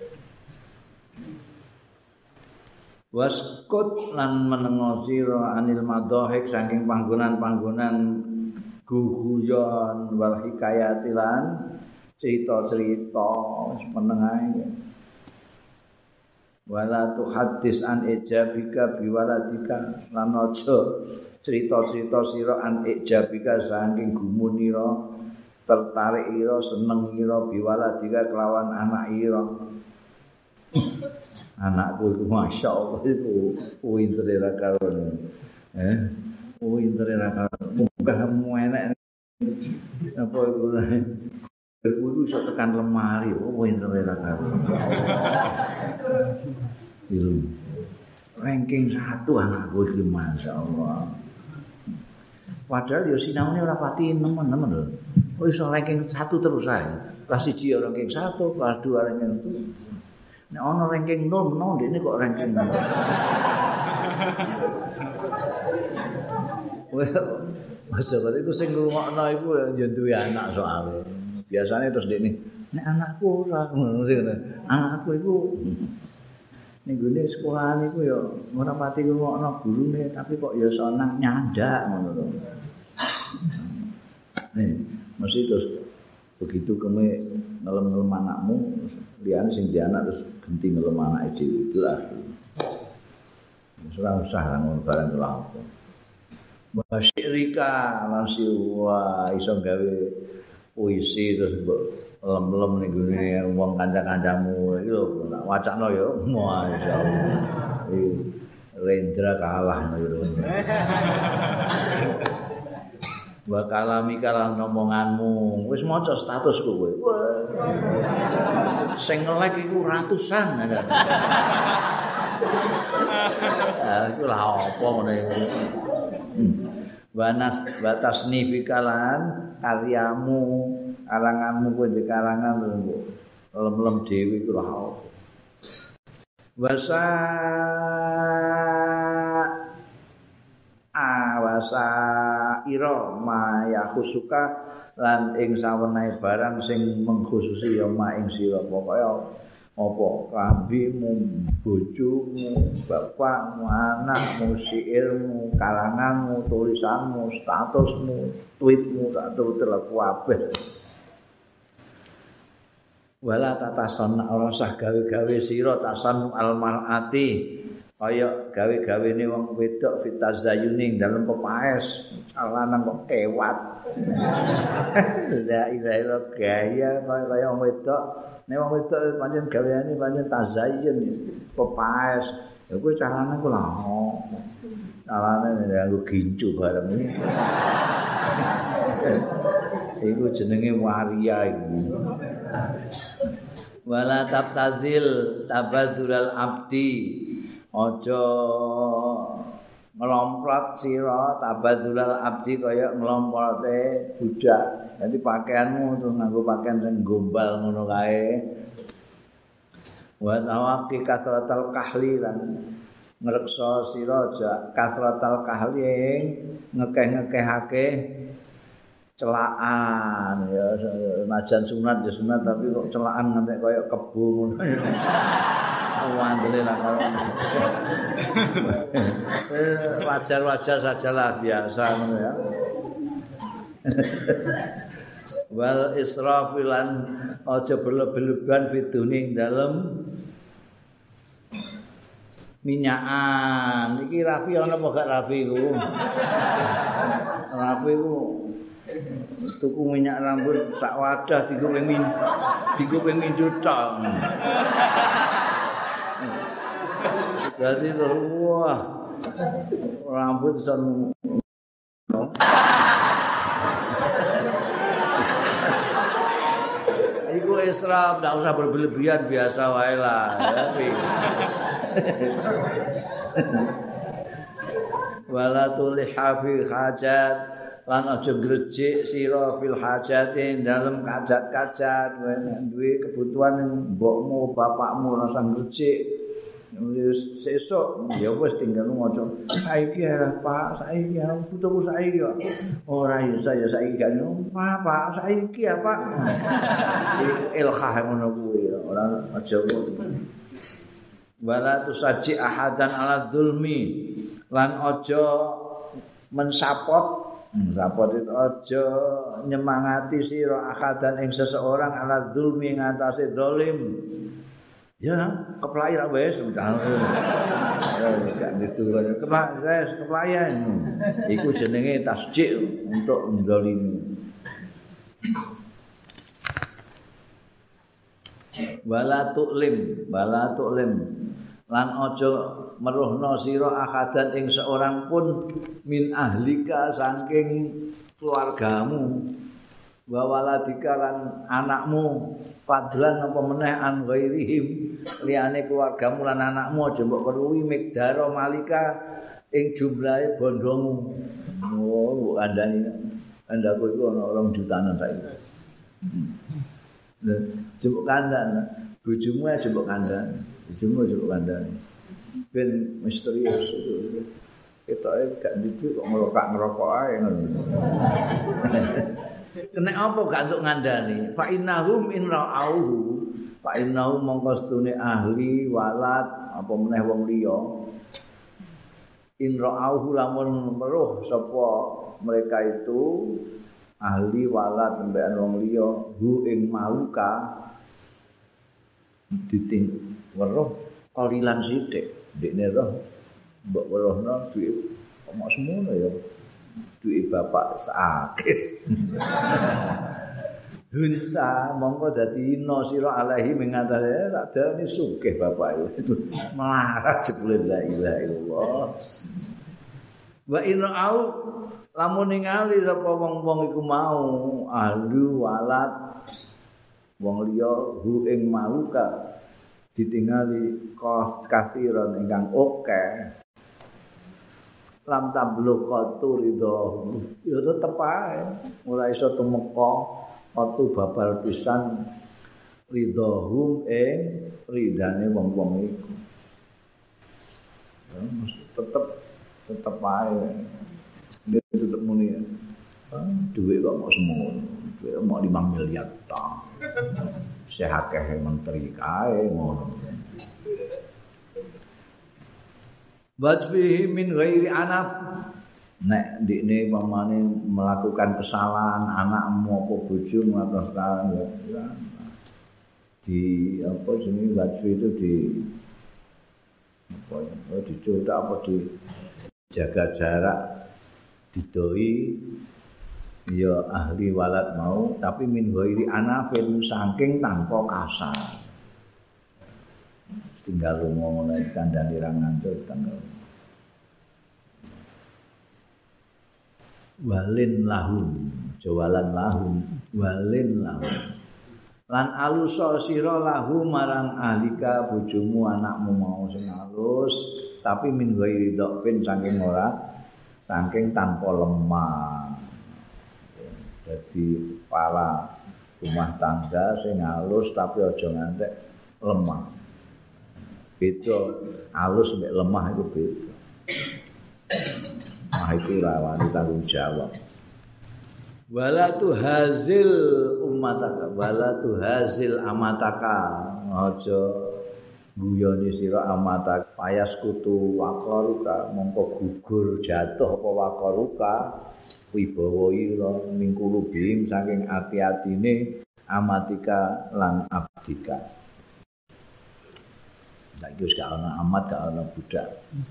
waskut lan menengo sira anil madhahik saking panggonan-panggonan guguyon wal hikayatilan cerita-cerita meneng ae wala tuhaddis an ijabika biwaladika lan aja cerita-cerita sira an ijabika saking gumunira tertarik ira seneng ira biwaladika kelawan anak ira anakku itu masyaallah itu pintere ra karon pintere ra karon munggah enek apa iku iku iso tekan lemari pintere ra karon ilmu ranking 1 anakku iki masyaallah padahal yo sinaune ora pati nemen-nemen lho iso ranking 1 terus ae kelas 1 ranking 1 kelas 2 ranking 1 nek ana ranking 0 menawa ndekne kok ranking 0. Aja kok iku sing ngrungokno iku ya duwe anak soalé. Biasane terus ndekne nek anakku ora ngono sing anakku iku ning gone sekolahan iku ya ora pati ngrungokno gurune tapi kok ya seneng nyandak ngono lho. Mesti terus begitu kowe ngelem-ngelem anakmu liyane sing di anak terus genti ngelem anake dhewe itulah. Ora usah ngono barang lha apa. Wasyirika lan siwa iso gawe puisi terus mbok lem-lem ning gone wong kanca-kancamu iki lho wacana ya masyaallah. Rendra kalah lho. Wa kalami kalan omonganmu wis maca statusku kowe sing nge-like iku ratusan iku lha apa ngene wanas batasnifikalan karyamu karanganmu kowe di karangan lem-lem dhewe iku lha apa awasa ira maya khusuka lan ing sawenehe barang sing mengkhususi ya ma ing sira pokoke apa kambimu bojomu bapakmu anakmu syairmu karanganmu tulisanmu statusmu tweetmu tak terlaku kabeh wala tatasan ora usah gawe-gawe sira tasan almarati kaya gawe-gawene wong wedok fitazayuning dalem pepaes lanang kok kewat la ilaha illallah gaya kaya wong wedok nek wong wedok pancen gaweane pancen tazayyun pepaes ya kuwi carane ku lha carane nganggo gincu bareng iku jenenge waria iku wala tabtazil tabadzulal abdi aja ngelomprot sira tabadzulal abdi kaya ngelomprote budak. Dadi pakaianmu terus nganggo pakaian sing gombal ngono kae. Wa tawaqi kasratal kahli lan ngreksa sira aja kasratal kahli ngekeh-ngekehake celaan ya najan sunat ya sunat tapi kok celaan nganti kaya kebo ngono. Wandele lah karo. Wajar-wajar sajalah biasa ngono ya. Wal israfilan aja berlebihan fituning dalem minyakan. Iki Rafi ana apa gak Rafi ku? Rafi ku tuku minyak rambut sak wadah digo ping mindut tok. Jadi terus wah rambut son iku israf, ndak usah berlebihan biasa wae lah ya. Wala tuliha fil hajat lan aja grecik sira fil hajati dalem kajat-kajat duwe kebutuhan mbokmu bapakmu rasa grecik sesuk ya wis tinggal ngoco saiki ya Pak saiki ya butuhku saiki ya ora ya saya saiki gak Pak saiki ya Pak ilhah ngono kuwi ora aja kok wala tusaji ahadan ala dzulmi lan aja mensapot itu aja nyemangati sira ahadan ing seseorang ala dzulmi ngatasé zalim. Ya, keplai ra wis udah. Gak diturun. Keplayan. Iku jenenge tasjik untuk mendolimi. Wala tu'lim. Lan aja meruhna sira akadan ing seorang pun min ahlika saking keluargamu. Wa waladika lan anakmu fadlan apa meneh an ghairihim liyane keluargamu lan anakmu aja mbok perluwi mikdaro malika ing jumlahe bondomu. Oh, kandhane andaku iku ana 2 jutaan saiki. Jebuk kandhan, bojomu aja mbok kandhan, bojomu aja mbok kandhan. Ben misterius itu. Ketoke gak ndiki kok ngerokok ae ngono. Kena apa gak untuk ngandani? Fa innahum in ra'auhu fa innahum mongko stune ahli walad apa meneh wong liya. In ra'auhu lamun meruh sapa mereka itu ahli walad tembekan wong liya hu ing maluka diting weruh kalilan sithik ndekne roh mbok weruhna duwe omok semono ya. Duit bapak sakit. Hunta mongko dadi ino sira alaihi mengatase tak darani sugih bapak itu. Melarat jebule la ilaha illallah. Wa inau lamun ningali sapa wong-wong iku mau ahlu walad wong liya hu ing maluka ditingali kasiran ingkang akeh. Lam tablu qatu ridho ya tetep ae ora iso tumeka watu babal pisan ridhohum ridane wong-wong iku tetep ae tetep muni duit kok mau semono duit mau 5 miliar ta sehakeh menteri kae ngono. Wajbihi min ghairi anaf nek ndikne pamane melakukan kesalahan anakmu apa bojomu atau sekarang ya di apa jenenge wajbi itu di apa ya dicoba apa di jaga jarak didoi ya ahli walad mau tapi min ghairi anafin saking tanpa kasar. Tinggal lunga ngono kandhane ra ngantuk tanggal. Walin lahum, jawalan lahum, walin lahum. Lan alusa sira lahum marang ahlika bojomu anakmu mau sing alus, tapi min ghairi dhafin saking ora saking tanpa lemah. Jadi para rumah tangga sing alus tapi aja ngantek lemah. Beda halus mek lemah itu beda. Mah itu ora wani tanggung jawab. Wala tu hazil ummataka wala tu hazil amataka aja guyoni sira amatak payas kutu wakaruka mongko gugur jatuh apa wakaruka wibawa ira mingkulu bim saking ati-atine amatika lan abdika. Saiki wis gak ana amat gak ana budak.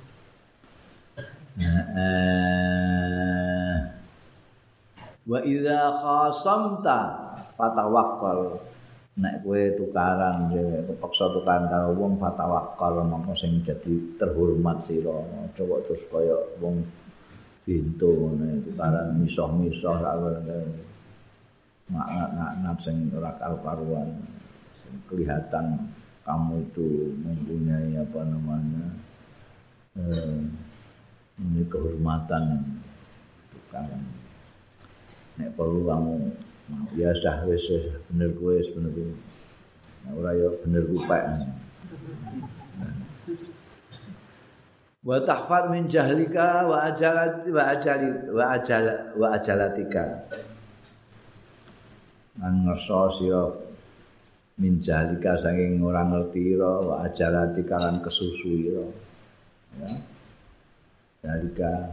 Wa idza khasamta fatawakkal. Nek kowe tukaran kepeksa tukaran karo wong fatawakkal mongko sing dadi terhormat sira. Coba terus kaya wong pintu ngene tukaran misoh-misoh mak sing ora karu-karuan. Sing kelihatan kamu itu mempunyai apa namanya ini kehormatan tukaran. Nek perlu kamu biasa wis bener kowe wis bener kowe. Nek ora ya bener rupek. Wa tahfad min jahlika wa ajalatika. Nang ngerso sira min jahlika saking ora ngerti ira wa ajalatika lan kesusu ira. Ya. Jalika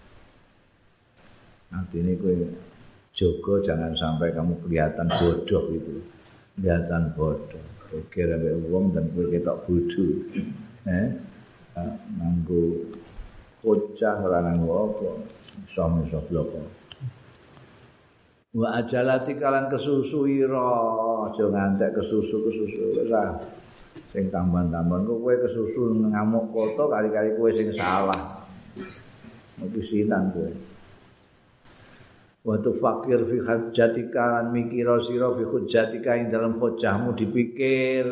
artinya kowe jaga jangan sampai kamu kelihatan bodoh itu. Kelihatan bodoh. Kira ambek wong dan kowe ketok bodoh. Nganggo kocah ora nganggo apa. Iso bloko. Wa ajalati kalan kesusu ira, aja ngantek kesusu wis ah. Sing tamban-tamban kowe kesusu ngamuk koto kali-kali kowe sing salah. Pisinan kowe. Wa tufakir fi hajjatika lan mikira sira fi hujjatika ing dalam hujjahmu dipikir.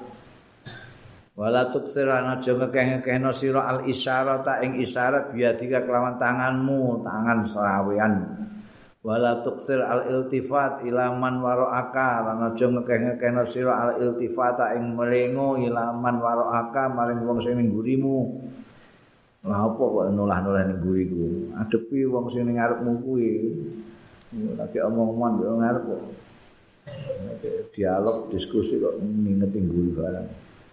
Wala tuksirana aja ngekeh-ngekehno sira al isyarata ing isyarat biadika kelawan tanganmu, tangan serawean. Wala tuksir al iltifat ilaman waro'aka lan aja ngekeh-ngekehno sira al iltifata ing melengo ilaman waro'aka maring wong sing ning ngurimu. Lah apa kok nulah-nulah ning nguriku? Adepi wong sing ning ngarepmu kuwi. Lagi omong-omongan yo ngarep kok. Dialog diskusi kok ngingeti nguri barang.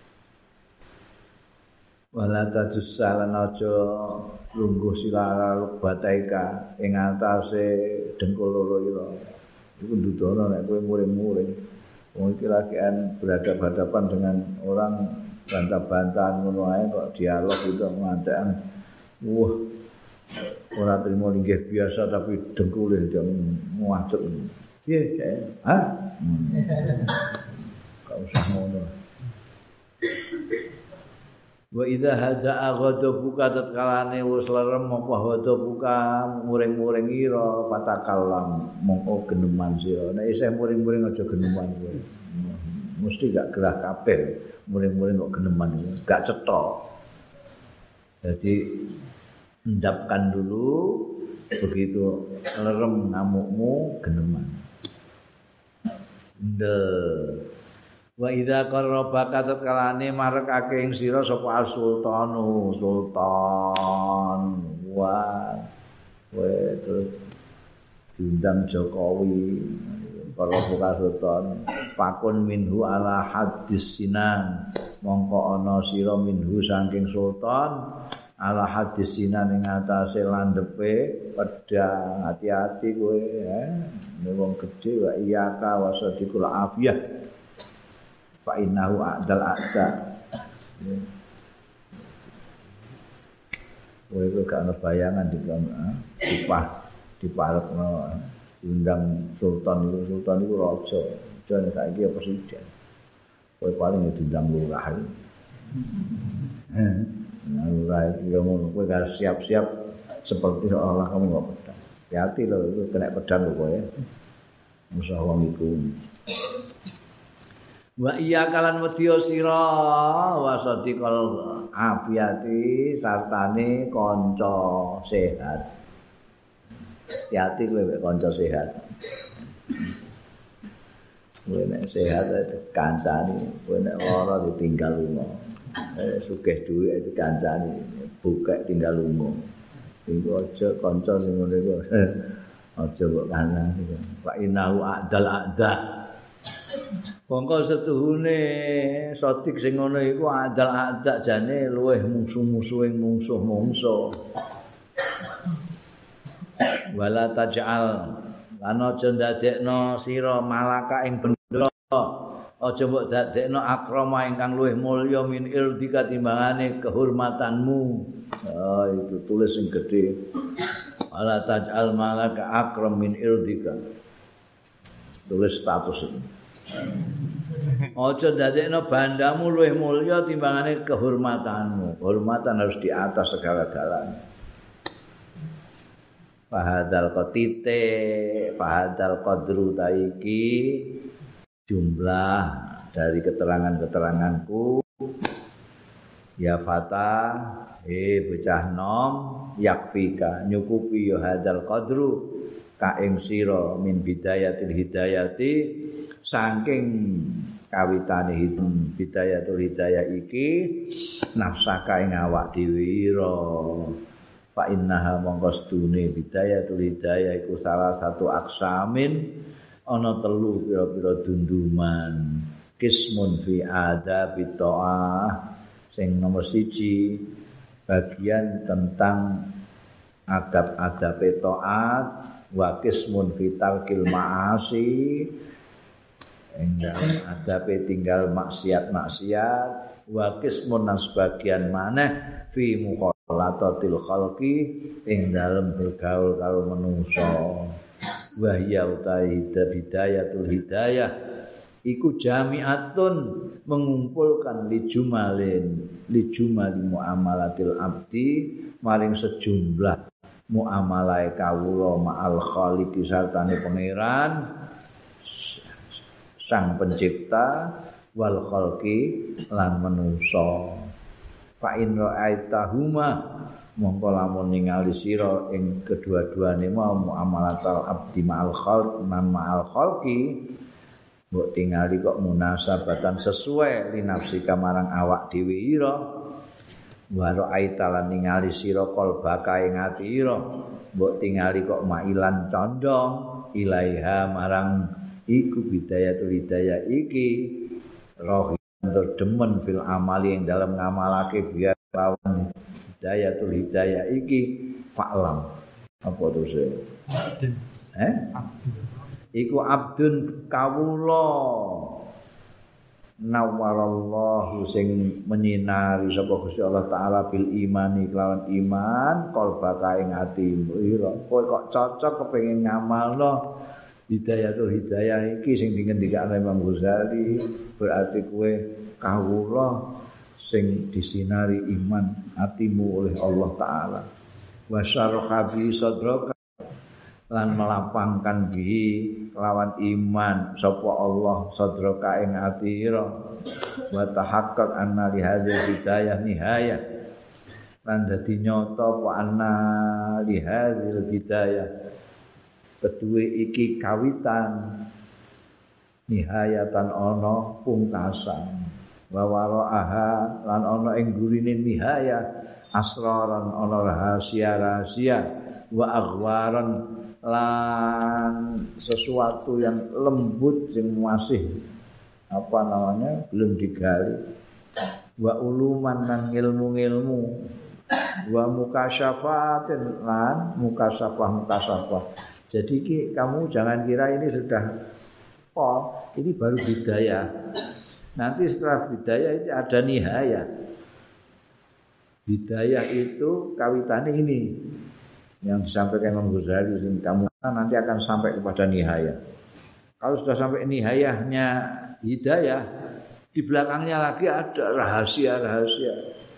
Wala tajussalan aja lungguh silara bataika ing atase dengkul loro ira. Iku ndudono nek kowe muring-muring. Wong iki lagian berhadapan-hadapan dengan orang bantah-bantahan ngono ae kok dialog itu ngantekan. Wah. Ora trimo linggih biasa tapi dengkule dia ngadeg. Piye, Cek? Hah? Kau usah ngono. Wa idza hada'a ghadabuka tatkalane wis lerem apa ghadabuka muring-muring ira patakallam mongko geneman sira. Nek isih muring-muring aja geneman kowe. Mesti gak gerah kabeh muring-muring kok geneman gak cetha. Jadi endapkan dulu begitu lerem ngamukmu geneman. Wa idza qarrabaka tatkalane marekake ing sira sapa sultanu sultan wa terus diundang Jokowi qarrabaka sultan pakun minhu ala hadis sinan mongko ana sira minhu saking sultan ala hadis sinan ing atase landepe pedang hati-hati kowe wong gedhe wa iyaka wasadikul afiyah fa innahu a'dal a'da. Kowe gak ana bayangan diparepno diundang sultan iku raja. Jane saiki apa presiden. Kowe paling diundang lurah. Lurah iki ngono kowe harus siap-siap seperti seolah kamu enggak pedang. Hati-hati lho itu kena pedang lho kowe. Musuh wong iku. Wa iya kalan wedya sira wasadiqal afiyati sartane kanca sehat. Hati-hati kowe mek kanca sehat. Kowe nek sehat kancane, kowe nek lara ditinggal lunga. Sugih dhuwit dikancani, bukek tinggal lunga. Iku aja kanca sing ngene iku. Aja kok kanan. Fa innahu a'dal a'da. Mongko setuhune sotik sing ngono iku a'dal a'da jane luweh musuh-musuhing mungsuh-mungsuh. Wala taj'al lan aja ndadekno sira malaka ing bendera. Aja mbok dadekno akrama ingkang luwih mulya min irdika timbangane kehormatanmu. Oh, itu tulis sing gedhe. Wala taj'al malaka akram min irdika. Tulis status ini. Aja dadekno bandamu luwih mulya timbangane kehormatanmu. Kehormatan harus di atas segala-galanya. Fahadal qadru taiki jumlah dari keterangan-keteranganku ya fata bocah nom yakfika nyukupi ya hadal qadru ka ing sira min bidayatil hidayati saking kawitane bidayatul hidayah iki nafsaka ing awak dhewe ira fa innaha mongko stune bidayatul hidayah iku salah satu aksamin ana telu pira-pira dunduman kismun fi adabi ta'ah sing nomor 1 bagian tentang adab-adab taat wa kismun fi talqil ma'asi enggal adabe tinggal maksiat-maksiat wa kismun dan sebagian maneh fi mukhalatatil khalqi ing dalem bergaul karo manungsa wa ya bidayatul hidayah iku jami'atun mengumpulkan li jumali muamalatil abdi maring sejumlah muamalah kawula ma'al khaliqi sartane pangeran sang pencipta wal khalqi lan manungsa fa in ra'aitahuma mongko lamun ningali sira ing kedua-duane mau muamalatul abdi ma'al khalq nan ma'al khalqi mbok tingali kok munasabatan sesuai linafsika marang awak dhewe ira wa ra'aita lan ningali sira qalbaka ing ati ira mbok tingali kok mailan condong ilaiha marang iku bidayatul hidayah iki roh terdemen fil amali yang dalam ngamalake biar lawan hidayatul hidayah iki fa'lam apa terus iku abdun kawula nawwarallahu sing menyinari sapa Gusti Allah taala bil imani kelawan iman qalbaka ing atimu ira kowe kok cocok kepengin ngamalno hidayatul hidayah iki sing dingendikake Imam Ghazali berarti kowe kawula sing disinari iman atimu oleh Allah taala wa syarha bi sadraka lan melapangkan bihi lawan iman sapa Allah sadraka ing ati ira wa tahaqqaq anna li hadzal hidayah nihayah lan dadi nyata apa anna li hadzal hidayah kedue iki kawitan nihayatan ana pungkasan wa waraaha lan ana ing gurine nihayah asraran ana rahasia-rahasia wa aghwaran lan sesuatu yang lembut sing masih apa namanya belum digali wa uluman lan ilmu-ilmu wa mukasyafatin lan mukasafah jadi kamu jangan kira ini sudah ini baru bidayah nanti setelah bidayah itu ada nihayah bidayah itu kawitannya ini yang disampaikan Imam Ghazali kamu nanti akan sampai kepada nihayah. Kalau sudah sampai nihayahnya hidayah, di belakangnya lagi ada rahasia-rahasia.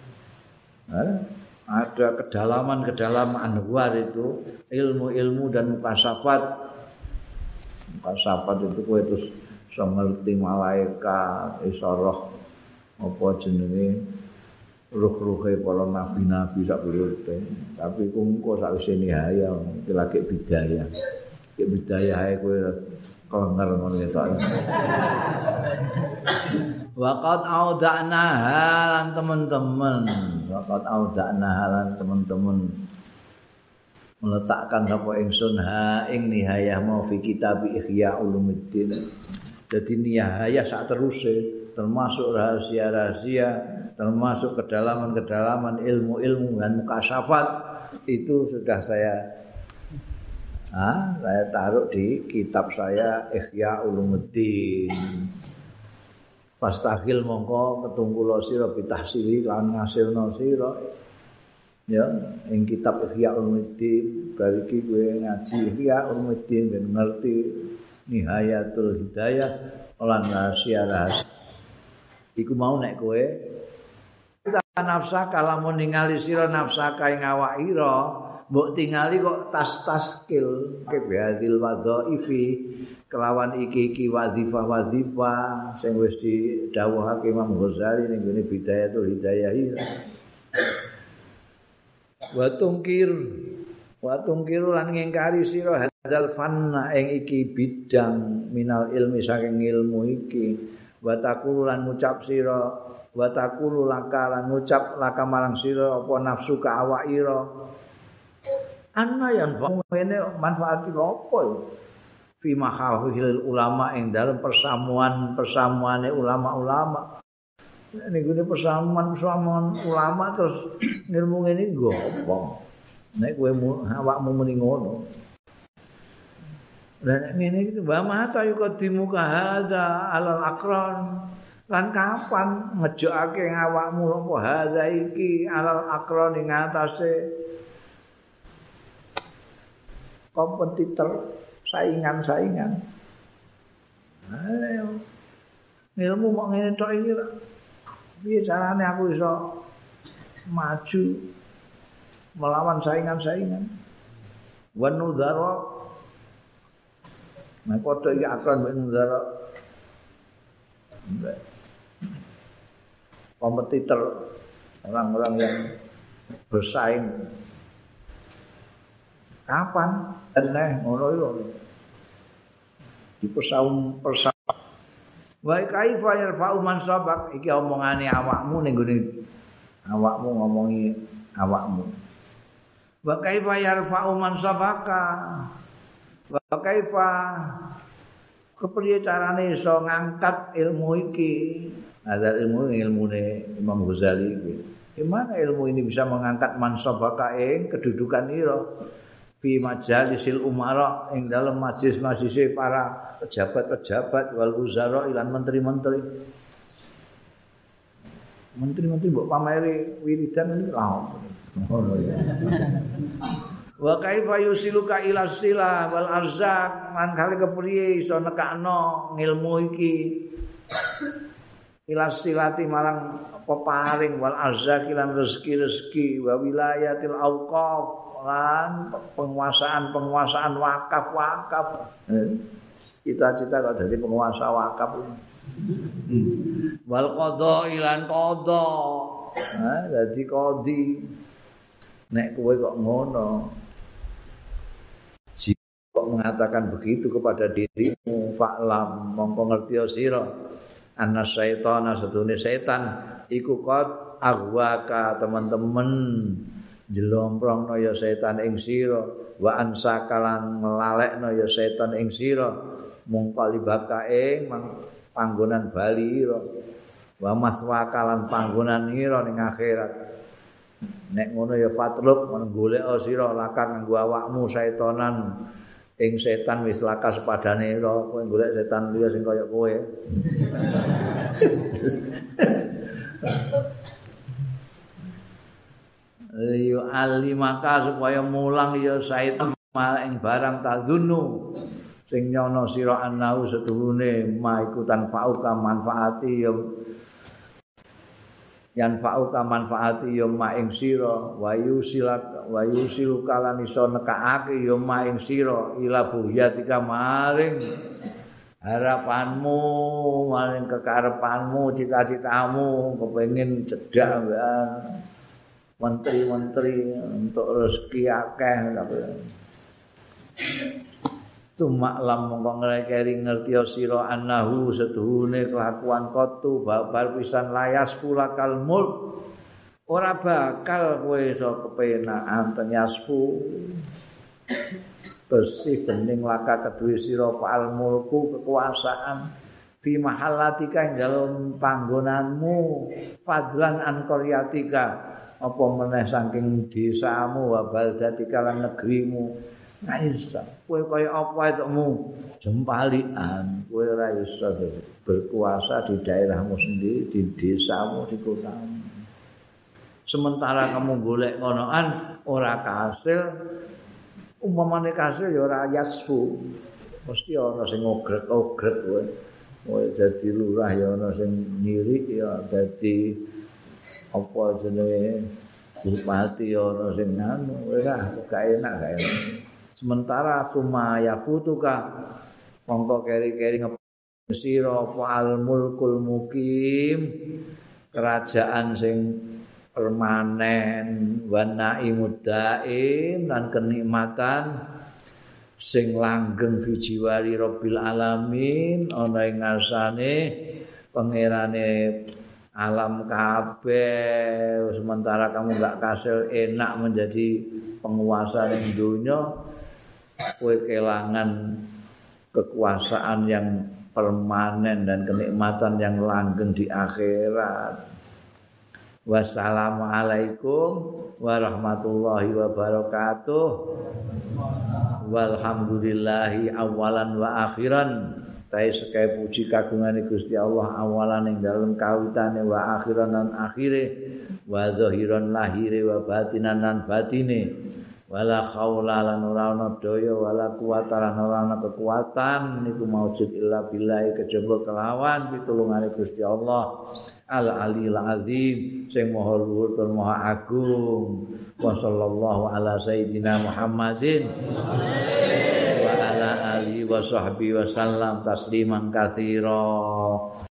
Ada kedalaman-kedalaman anwar itu, ilmu-ilmu dan mukasafat. Mukasafat itu kowe terus iso ngerti malaikat, iso roh apa jenenge ruh-ruhe para nabi-nabi sak urip tapi engko sakwise nihaya iki lagi bidayah iki bidayah ae kowe klenger ngono ketok waqat audana halan teman-teman meletakkan apa ingsun ha ing nihayah mau fi kitab Ihya Ulumuddin. Jadi nihayah sak teruse termasuk rahasia-rahasia, termasuk kedalaman-kedalaman ilmu-ilmu dan mukasyafat itu sudah saya taruh di kitab saya Ihya Ulumuddin. Pastahil mongko ketungkula sira bitahsili lan ngasilna sira ya ing kitab Ihya Ulumuddin bariki kowe ngaji Ihya Ulumuddin ben ngerti Nihayatul Hidayah lan rahasia-rahasia iku mau nek kowe nafsa kalamun ningali sira nafsa ing awak ira mbok tingali kok tas-taskil kebihadil wadhaifi kelawan iki wadzifah sing wis didhawuhake Imam Ghazali ning ngene Bidayatul Hidayah wa tungkir lan ngingkari sira hadzal fanna ing iki bidang minal ilmi saking ilmu iki wa taqulu lan ngucap sira wa taqulu lakalan ngucap laka marang sira apa nafsu ka awak ira anna yang ini manfaati apa ya fi mahafil ulama ing dalam persamuane ulama-ulama niku persamuan ulama terus ilmu ngene nggo apa nek kowe awakmu muni ngono lah nek ngene iki wa mata yuqaddimu ka hadza alal aqran kan kapan ngejokake awakmu apa hadza iki alal aqran ing atase kompetitor saingan-saingan. Ayo. Ilmu kok ngene tok iki. Piye carane aku iso maju melawan saingan-saingan? Wa nudzara. Nah padha iki akron mek nudzara. Kompetitor orang-orang yang bersaing. Kapan? Eneh ngono iku. Di persaum. Wa kaifa yarfa'u man sabaq iki omongane awakmu ning gone awakmu ngomongi awakmu. Wa kaifa yarfa'u man sabaqa. Wa kaifa kepriye carane iso ngangkat ilmu iki. Ada ilmune Imam Ghazali iki. Gimana ilmu ini bisa mengangkat man sabaqa ing kedudukan ira? Fi majalisil umara ing dalam majlis-majlis para pejabat-pejabat wal uzara lan menteri-menteri. Menteri-menteri mbok pameri wiridan niku lha ngono ya. Wa kaifa yusiluka ila sila wal arzaq lan kali kepriye iso nekakno ngilmu iki ila silati marang peparing wal arzaq lan rezeki-rezeki wa wilayatil auqaf lan penguasaan wakaf. Cita-cita kok jadi penguasa wakaf. Wal qadha ilan qadha. Dadi qadhi. Nek kowe kok ngono. Jika kok mengatakan begitu kepada dirimu, fa'lam mongko ngerti sira anna syaitana sedune setan iku qad aghwaka teman-teman jelomprongno ya setan ing sira wa ansakalan nglalekno ya setan ing sira mung kalibaka ing panggonan bali ira wa maswakalan panggonan ira ning akhirat nek ngono ya fatruk golek sira lakang nganggo awakmu setanan ing setan wis laka sepadane ira kowe golek setan liya sing kaya kowe liyu alimaka supaya mulang ya said ing barang tadzunu sing nyono sira anau setuhune ma ikutan fauka manfaati ya yan fauka manfaati ya ma ing sira wayu siluka lan iso nekake ya ma ing sira ila buhyatika maring harapanmu maring kekarepanmu cita-citamu kepengin cedhak menteri-menteri untuk rezeki akeh cuma lam mongko ngrekeri ngerti sira annahu setuhune kelakuan kotu babar pisan layas kulakal mulk ora bakal kowe iso kepenakan tenyaspu bersih bening laka kedue sira fa'al mulku kekuasaan fi mahallatika ing dalem panggonanmu fadlan an qaryatika apa meneh saking desamu wa baldatika lan negerimu ora iso kowe kaya apa etmu jempalian kowe ora iso berkuasa di daerahmu sendiri di desamu di kotamu sementara kamu golek ngonoan ora kasil umpamane kasil ya ora yasfu mesti ana sing ogrek-ogrek kowe dadi lurah ya ana sing nyirik ya dadi apa jenenge bupati ya ana sing anu ora gak enak sementara sumaya futuka mongko keri-keri sira fa'al mulkul mukim kerajaan sing permanen wa naimud daim lan kenikmatan sing langgeng fi jiwari rabbil alamin ana ing ngarsane pangerane alam kabeh sementara kamu enggak kasil enak menjadi penguasa ning dunya kowe kelangan kekuasaan yang permanen dan kenikmatan yang langgeng di akhirat. Wassalamualaikum warahmatullahi wabarakatuh. Walhamdulillahi awalan wa akhiran. Tahe sekae puji kagungane Gusti Allah awalan ing dalem kawitane wa akhiran lan akhire wa zahiran lahire wa batinan lan batine. Wala khaula lan ora ana daya wala quwata lan ora ana kekuatan niku maujud illa billahi kejaba kelawan pitulungane Gusti Allah. Al-Aliyil Azim sing maha luhur tur maha agung wa sallallahu ala sayidina Muhammadin wa ala alihi wa sahbihi wa sallam tasliman katsira.